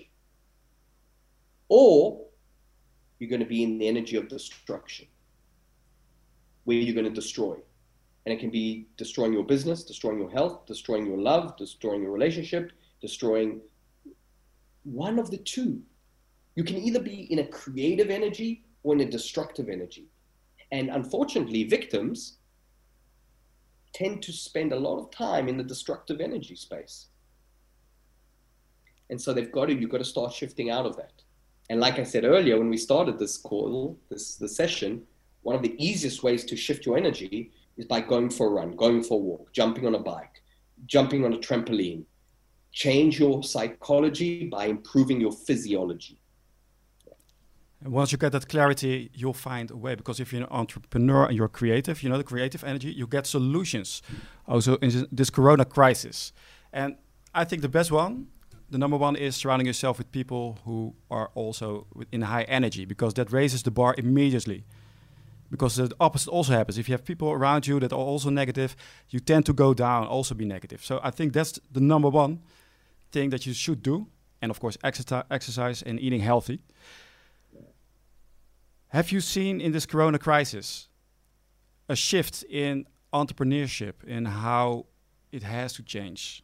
Or you're going to be in the energy of destruction, where you're going to destroy. And it can be destroying your business, destroying your health, destroying your love, destroying your relationship, destroying one of the two. You can either be in a creative energy or in a destructive energy. And unfortunately, victims tend to spend a lot of time in the destructive energy space. And so they've got to, you've got to start shifting out of that. And like I said earlier, when we started this call, this, this session, one of the easiest ways to shift your energy is by going for a run, going for a walk, jumping on a bike, jumping on a trampoline. Change your psychology by improving your physiology. And once you get that clarity, you'll find a way. Because if you're an entrepreneur and you're creative, you know, the creative energy, you get solutions. Also in this Corona crisis. And I think the best one, the number one, is surrounding yourself with people who are also in high energy, because that raises the bar immediately. Because the opposite also happens. If you have people around you that are also negative, you tend to go down, also be negative. So I think that's the number one thing that you should do. and of course exercise, exercise and eating healthy. Have you seen in this Corona crisis a shift in entrepreneurship in how it has to change?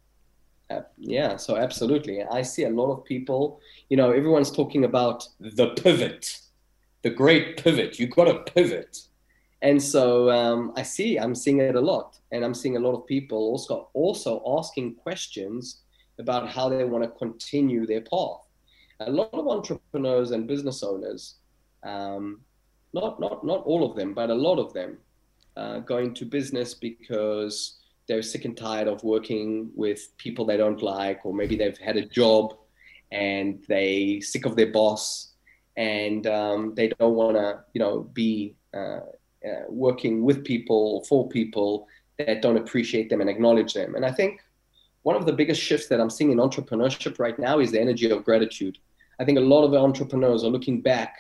Uh, yeah, so absolutely. I see a lot of people, you know, everyone's talking about the pivot, the great pivot. You got to pivot. And so um, I see, I'm seeing it a lot. And I'm seeing a lot of people also, also asking questions about how they want to continue their path. A lot of entrepreneurs and business owners, um, not, not, not all of them, but a lot of them uh, go into business because they're sick and tired of working with people they don't like, or maybe they've had a job and they sick of their boss, and um, they don't want to, you know, be uh, uh, working with people or for people that don't appreciate them and acknowledge them. And I think one of the biggest shifts that I'm seeing in entrepreneurship right now is the energy of gratitude. I think a lot of entrepreneurs are looking back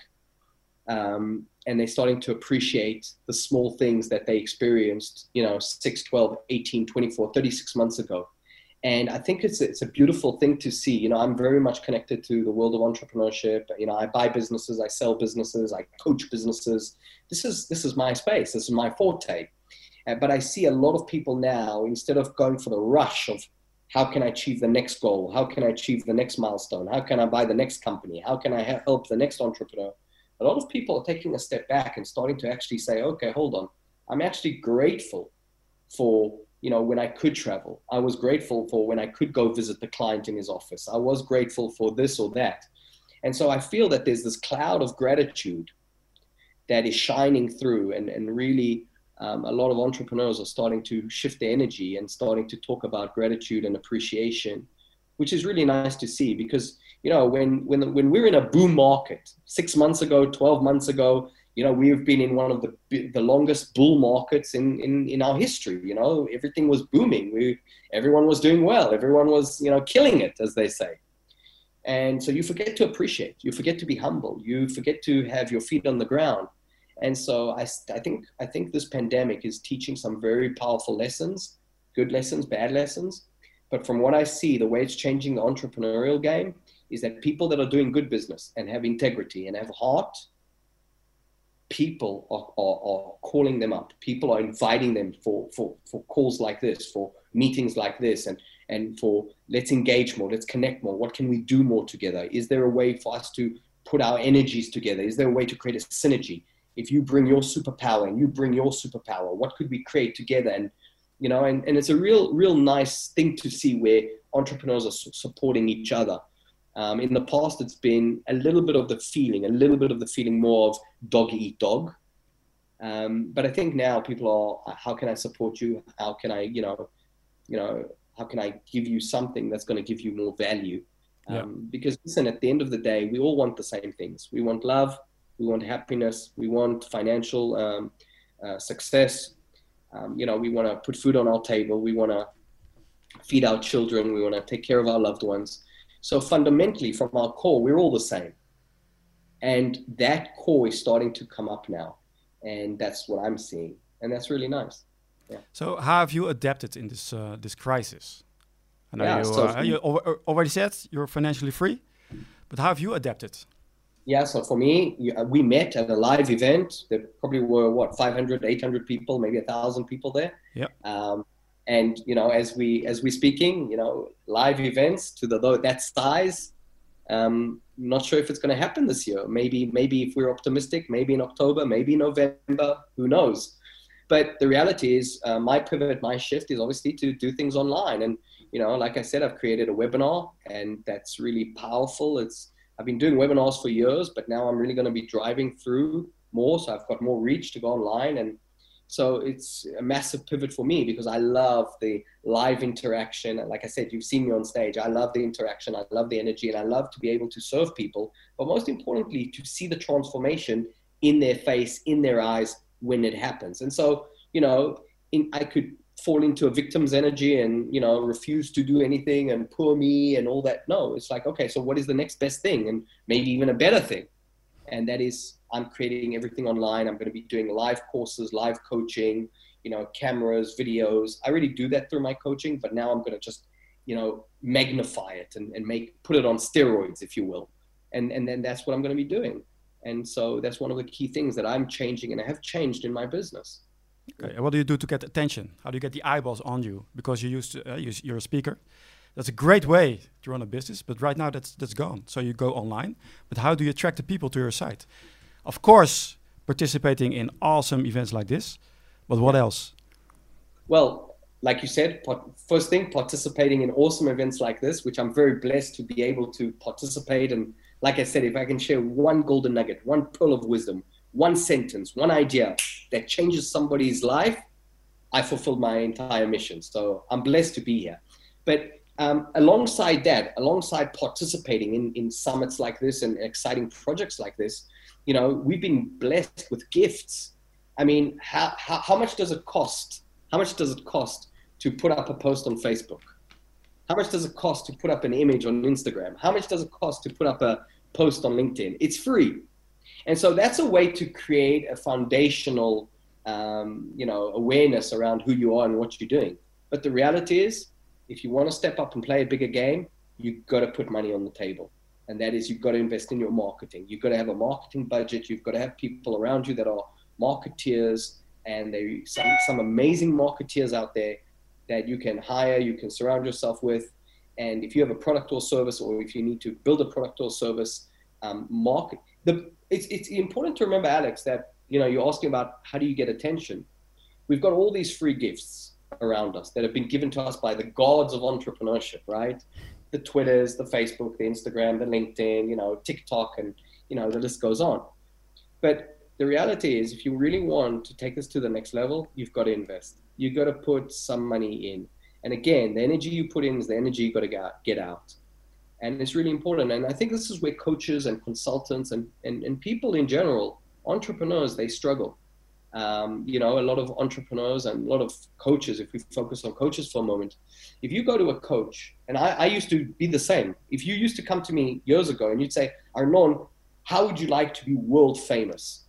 um, and they're starting to appreciate the small things that they experienced, you know, six, twelve, eighteen, twenty-four, thirty-six months ago. And I think it's, it's a beautiful thing to see. You know, I'm very much connected to the world of entrepreneurship. You know, I buy businesses, I sell businesses, I coach businesses. This is, this is my space. This is my forte. Uh, but I see a lot of people now, instead of going for the rush of how can I achieve the next goal? How can I achieve the next milestone? How can I buy the next company? How can I help the next entrepreneur? A lot of people are taking a step back and starting to actually say, okay, hold on. I'm actually grateful for, you know, when I could travel. I was grateful for when I could go visit the client in his office. I was grateful for this or that. And so I feel that there's this cloud of gratitude that is shining through, and, and really um, a lot of entrepreneurs are starting to shift their energy and starting to talk about gratitude and appreciation, which is really nice to see. Because, you know, when, when, when we're in a boom market, six months ago, twelve months ago, you know, we've been in one of the the longest bull markets in, in, in our history. You know, everything was booming. We, everyone was doing well. Everyone was, you know, killing it, as they say. And so you forget to appreciate. You forget to be humble. You forget to have your feet on the ground. And so I, I think I think this pandemic is teaching some very powerful lessons, good lessons, bad lessons. But from what I see, the way it's changing the entrepreneurial game is that people that are doing good business and have integrity and have heart, people are, are, are calling them up. People are inviting them for, for, for calls like this, for meetings like this, and, and for let's engage more, let's connect more. What can we do more together? Is there a way for us to put our energies together? Is there a way to create a synergy? If you bring your superpower and you bring your superpower, what could we create together? And, you know, and, and it's a real, real nice thing to see where entrepreneurs are su- supporting each other. Um, in the past, it's been a little bit of the feeling, a little bit of the feeling more of dog eat dog. Um, but I think now people are, how can I support you? How can I, you know, you know, how can I give you something that's going to give you more value? Um, yeah. Because listen, at the end of the day, we all want the same things. We want love, we want happiness, we want financial um, uh, success. Um, you know, we want to put food on our table. We want to feed our children. We want to take care of our loved ones. So fundamentally, from our core, we're all the same. And that core is starting to come up now. And that's what I'm seeing. And that's really nice. Yeah. So how have you adapted in this uh, this crisis? I know yeah, you, so uh, you already said you're financially free, but how have you adapted? Yeah, so for me, we met at a live event. There probably were, what, five hundred, eight hundred people, maybe one thousand people there. Yeah. Um, and, you know, as we as we speaking, you know, live events to the that size, um, not sure if it's going to happen this year. Maybe, maybe if we're optimistic, maybe in October, maybe November, who knows? But the reality is uh, my pivot, my shift is obviously to do things online. And, you know, like I said, I've created a webinar, and that's really powerful. It's I've been doing webinars for years, but now I'm really going to be driving through more. So I've got more reach to go online. And so it's a massive pivot for me because I love the live interaction. And like I said, you've seen me on stage. I love the interaction. I love the energy, and I love to be able to serve people. But most importantly, to see the transformation in their face, in their eyes when it happens. And so, you know, in, I could fall into a victim's energy and, you know, refuse to do anything and poor me and all that. No, it's like, okay, so what is the next best thing? And maybe even a better thing. And that is, I'm creating everything online. I'm going to be doing live courses, live coaching, you know, cameras, videos. I already do that through my coaching, but now I'm going to just you know, magnify it and, and make, put it on steroids, if you will. And, and then that's what I'm going to be doing. And so that's one of the key things that I'm changing and I have changed in my business. Okay. And what do you do to get attention? How do you get the eyeballs on you? Because you used to, uh, you're a speaker. That's a great way to run a business, but right now that's that's gone. So you go online, but how do you attract the people to your site? Of course, participating in awesome events like this, but what else? Well, like you said, first thing, participating in awesome events like this, which I'm very blessed to be able to participate. And like I said, if I can share one golden nugget, one pearl of wisdom, one sentence, one idea that changes somebody's life, I fulfilled my entire mission. So I'm blessed to be here. But um, alongside that, alongside participating in, in summits like this and exciting projects like this, you know, we've been blessed with gifts. I mean, how, how, how much does it cost? How much does it cost to put up a post on Facebook? How much does it cost to put up an image on Instagram? How much does it cost to put up a post on LinkedIn? It's free. And so that's a way to create a foundational, um, you know, awareness around who you are and what you're doing. But the reality is, if you want to step up and play a bigger game, you've got to put money on the table. And that is, you've got to invest in your marketing. You've got to have a marketing budget. You've got to have people around you that are marketeers, and there are some, some amazing marketeers out there that you can hire, you can surround yourself with. And if you have a product or service, or if you need to build a product or service, um, market. The, it's, it's important to remember, Alex, that, you know, you're asking about how do you get attention. We've got all these free gifts around us that have been given to us by the gods of entrepreneurship, right? The Twitters, the Facebook, the Instagram, the LinkedIn, you know, TikTok, and, you know, the list goes on. But the reality is, if you really want to take this to the next level, you've got to invest. You've got to put some money in. And again, the energy you put in is the energy you've got to get out. And it's really important. And I think this is where coaches and consultants and, and, and people in general, entrepreneurs, they struggle. Um, you know, a lot of entrepreneurs and a lot of coaches, if we focus on coaches for a moment, if you go to a coach, and I, I used to be the same. If you used to come to me years ago and you'd say, Arnon, how would you like to be world famous?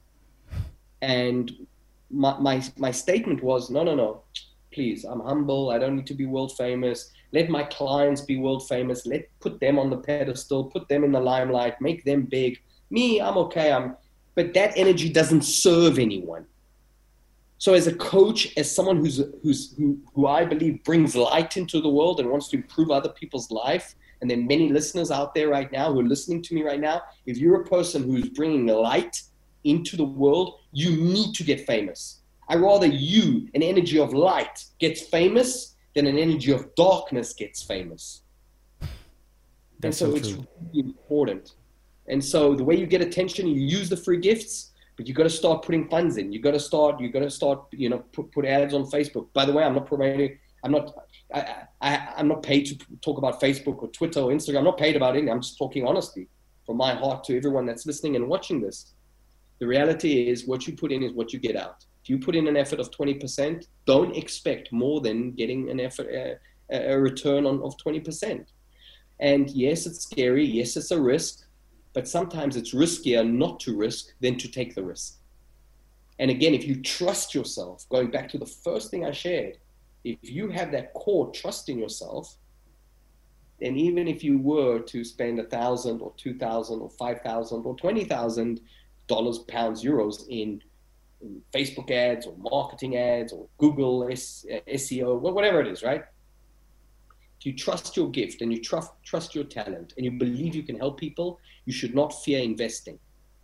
And my, my, my statement was, no, no, no, please, I'm humble. I don't need to be world famous. Let my clients be world famous. Let put them on the pedestal, put them in the limelight, make them big. Me, I'm okay. I'm, but that energy doesn't serve anyone. So as a coach, as someone who's, who's, who, who I believe brings light into the world and wants to improve other people's life, and then many listeners out there right now who are listening to me right now, if you're a person who's bringing light into the world, you need to get famous. I rather you, an energy of light, gets famous than an energy of darkness gets famous. That's and so, so it's true. really important. And so the way you get attention, you use the free gifts, but you got to start putting funds in. You got to start, you got to start, you know, put, put ads on Facebook. By the way, I'm not promoting, I'm not, I, I, I'm not paid to talk about Facebook or Twitter or Instagram. I'm not paid about it. I'm just talking honestly from my heart to everyone that's listening and watching this. The reality is what you put in is what you get out. If you put in an effort of twenty percent, don't expect more than getting an effort, uh, a return on of twenty percent. And yes, it's scary. Yes, it's a risk. But sometimes it's riskier not to risk than to take the risk. And again, if you trust yourself, going back to the first thing I shared, if you have that core trust in yourself, then even if you were to spend a thousand or two thousand or five thousand or twenty thousand dollars, pounds, euros in, in Facebook ads or marketing ads or Google S, uh, S E O, whatever it is, right? If you trust your gift and you trust trust your talent and you believe you can help people, you should not fear investing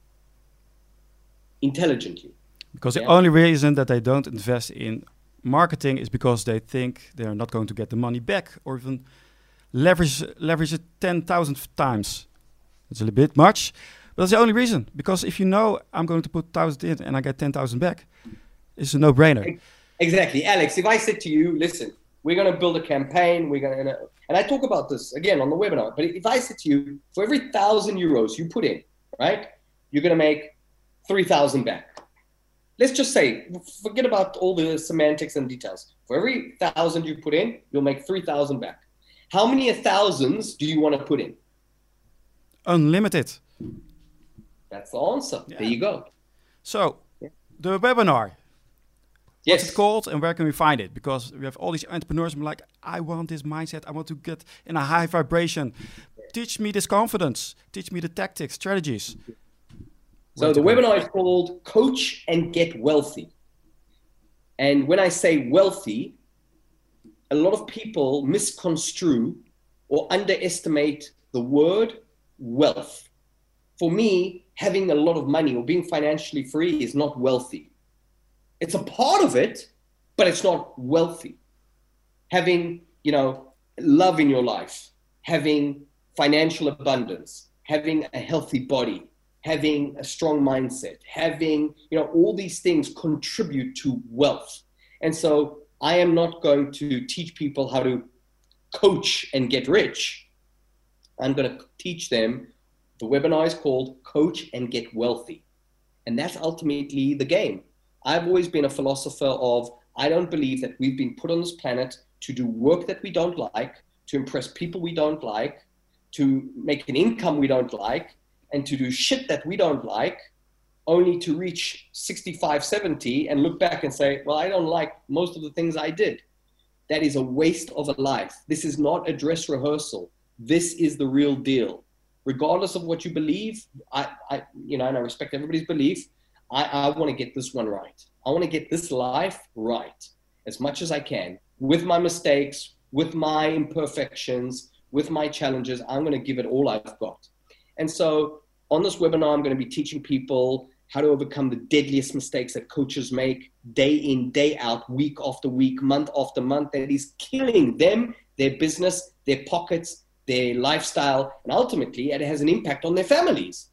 intelligently. Because yeah? the only reason that they don't invest in marketing is because they think they're not going to get the money back, or even leverage leverage it ten thousand times. It's a little bit much, but that's the only reason. Because if you know I'm going to put one thousand in and I get ten thousand back, it's a no-brainer. Exactly. Alex, if I said to you, listen, we're going to build a campaign, we're going to, and I talk about this again on the webinar, but if I said to you, for every thousand euros you put in, right, you're going to make three thousand back. Let's just say, forget about all the semantics and details. For every thousand you put in, you'll make three thousand back. How many thousands do you want to put in? Unlimited. That's the answer. Yeah. There you go. So, yeah. The webinar. What's Yes. it called and where can we find it? Because we have all these entrepreneurs who are like, I want this mindset. I want to get in a high vibration. Teach me this confidence. Teach me the tactics, strategies. Where So to the go? webinar is called Coach and Get Wealthy. And when I say wealthy, a lot of people misconstrue or underestimate the word wealth. For me, having a lot of money or being financially free is not wealthy. It's a part of it, but it's not wealthy. Having, you know, love in your life, having financial abundance, having a healthy body, having a strong mindset, having, you know, all these things contribute to wealth. And so I am not going to teach people how to coach and get rich. I'm going to teach them. The webinar is called Coach and Get Wealthy. And that's ultimately the game. I've always been a philosopher of, I don't believe that we've been put on this planet to do work that we don't like, to impress people we don't like, to make an income we don't like, and to do shit that we don't like, only to reach sixty-five, seventy and look back and say, well, I don't like most of the things I did. That is a waste of a life. This is not a dress rehearsal. This is the real deal. Regardless of what you believe, I, I you know, and I respect everybody's belief, I, I want to get this one right. I want to get this life right as much as I can, with my mistakes, with my imperfections, with my challenges. I'm going to give it all I've got. And so on this webinar, I'm going to be teaching people how to overcome the deadliest mistakes that coaches make day in, day out, week after week, month after month, that is killing them, their business, their pockets, their lifestyle, and ultimately it has an impact on their families.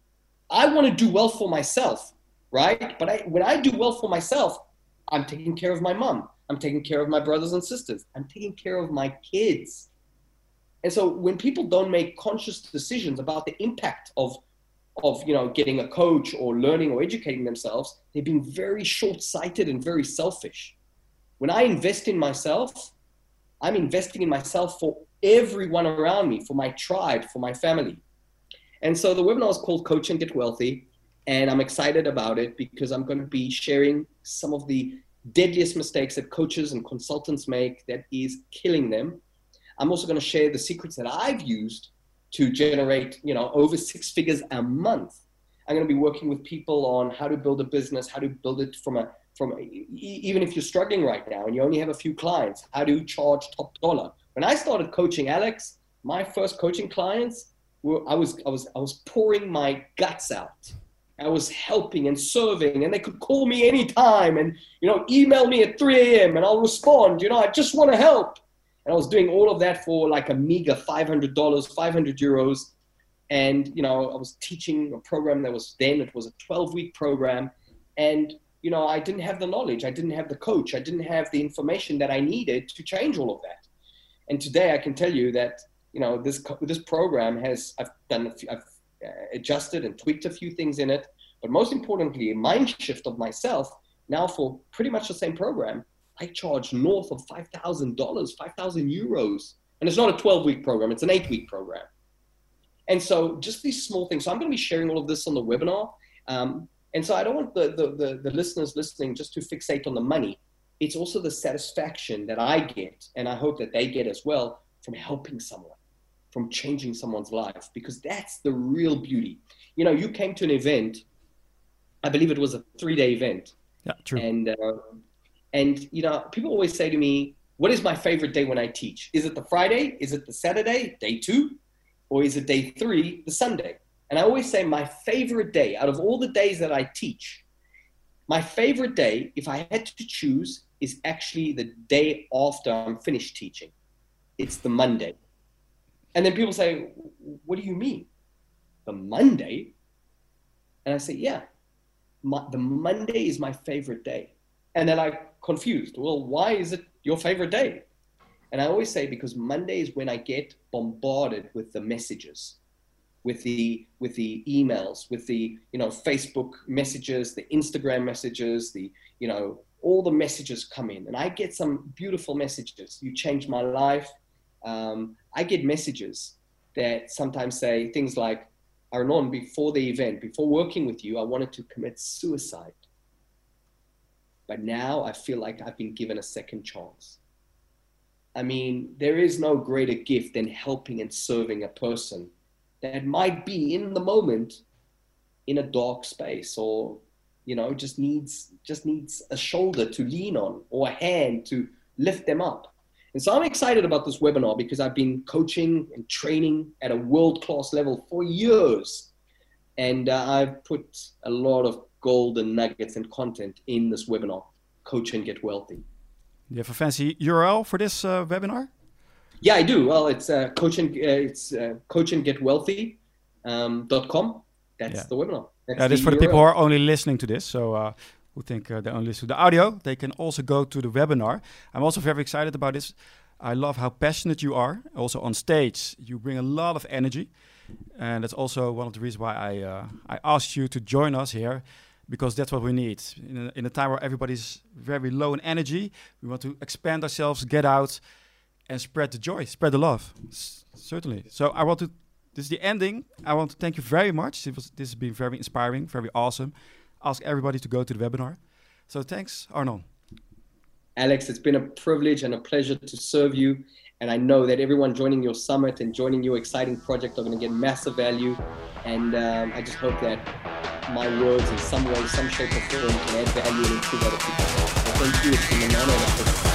I want to do well for myself, right? But I, when I do well for myself, I'm taking care of my mom. I'm taking care of my brothers and sisters. I'm taking care of my kids. And so when people don't make conscious decisions about the impact of, of you know, getting a coach or learning or educating themselves, they're being very short-sighted and very selfish. When I invest in myself, I'm investing in myself for everyone around me, for my tribe, for my family. And so the webinar is called Coach and Get Wealthy. And I'm excited about it because I'm going to be sharing some of the deadliest mistakes that coaches and consultants make that is killing them. I'm also going to share the secrets that I've used to generate, you know, over six figures a month. I'm going to be working with people on how to build a business, how to build it from a, from a, even if you're struggling right now and you only have a few clients, how to charge top dollar. When I started coaching Alex, my first coaching clients were, I was, I was, I was pouring my guts out. I was helping and serving, and they could call me anytime and, you know, email me at three a.m. and I'll respond. You know, I just want to help. And I was doing all of that for like a meager five hundred dollars, five hundred euros. And, you know, I was teaching a program that was then, it was a twelve week program. And, you know, I didn't have the knowledge. I didn't have the coach. I didn't have the information that I needed to change all of that. And today I can tell you that, you know, this, this program has, I've done, a few, I've adjusted and tweaked a few things in it. But most importantly, a mind shift of myself. Now for pretty much the same program, I charge north of five thousand dollars, five thousand euros. And it's not a twelve week program, it's an eight week program. And so just these small things. So I'm going to be sharing all of this on the webinar. Um, and so I don't want the, the, the, the listeners listening just to fixate on the money. It's also the satisfaction that I get, and I hope that they get as well, from helping someone, from changing someone's life, because that's the real beauty. You know, you came to an event, I believe it was a three day event. Yeah, true. And, uh, And, you know, people always say to me, what is my favorite day when I teach? Is it the Friday? Is it the Saturday, day two? Or is it day three, the Sunday? And I always say my favorite day out of all the days that I teach, my favorite day, if I had to choose, is actually the day after I'm finished teaching. It's the Monday. And then people say, what do you mean? The Monday? And I say, yeah, my, the Monday is my favorite day. And then I confused. Well, why is it your favorite day? And I always say, because Monday is when I get bombarded with the messages, with the with the emails, with the, you know, Facebook messages, the Instagram messages, the, you know, all the messages come in. And I get some beautiful messages. You changed my life. Um, I get messages that sometimes say things like, Arnon, before the event, before working with you, I wanted to commit suicide. but now I feel like I've been given a second chance. I mean, there is no greater gift than helping and serving a person that might be in the moment in a dark space, or, you know, just needs, just needs a shoulder to lean on or a hand to lift them up. And so I'm excited about this webinar because I've been coaching and training at a world-class level for years. And uh, I've put a lot of golden nuggets and content in this webinar, Coach and Get Wealthy. Do you have a fancy U R L for this uh, webinar? Yeah, I do. Well, it's uh, coach and uh, it's uh, coach and get wealthy um, dot com. That's yeah. the webinar. That's yeah, this the for the U R L. people who are only listening to this. So uh, who think uh, they only listen to the audio, they can also go to the webinar. I'm also very excited about this. I love how passionate you are. Also on stage, you bring a lot of energy, and that's also one of the reasons why I uh, I asked you to join us here, because that's what we need in a, in a time where everybody's very low in energy. We want to expand ourselves, get out, and spread the joy, spread the love. S- certainly. So I want to. This is the ending. I want to thank you very much. It was, this has been very inspiring, very awesome. Ask everybody to go to the webinar. So thanks, Arnon. Alex, it's been a privilege and a pleasure to serve you. And I know that everyone joining your summit and joining your exciting project are going to get massive value. And um, I just hope that my words in some way, some shape or form can add value and improve other people's lives. So thank you. It's been an honor and a pleasure.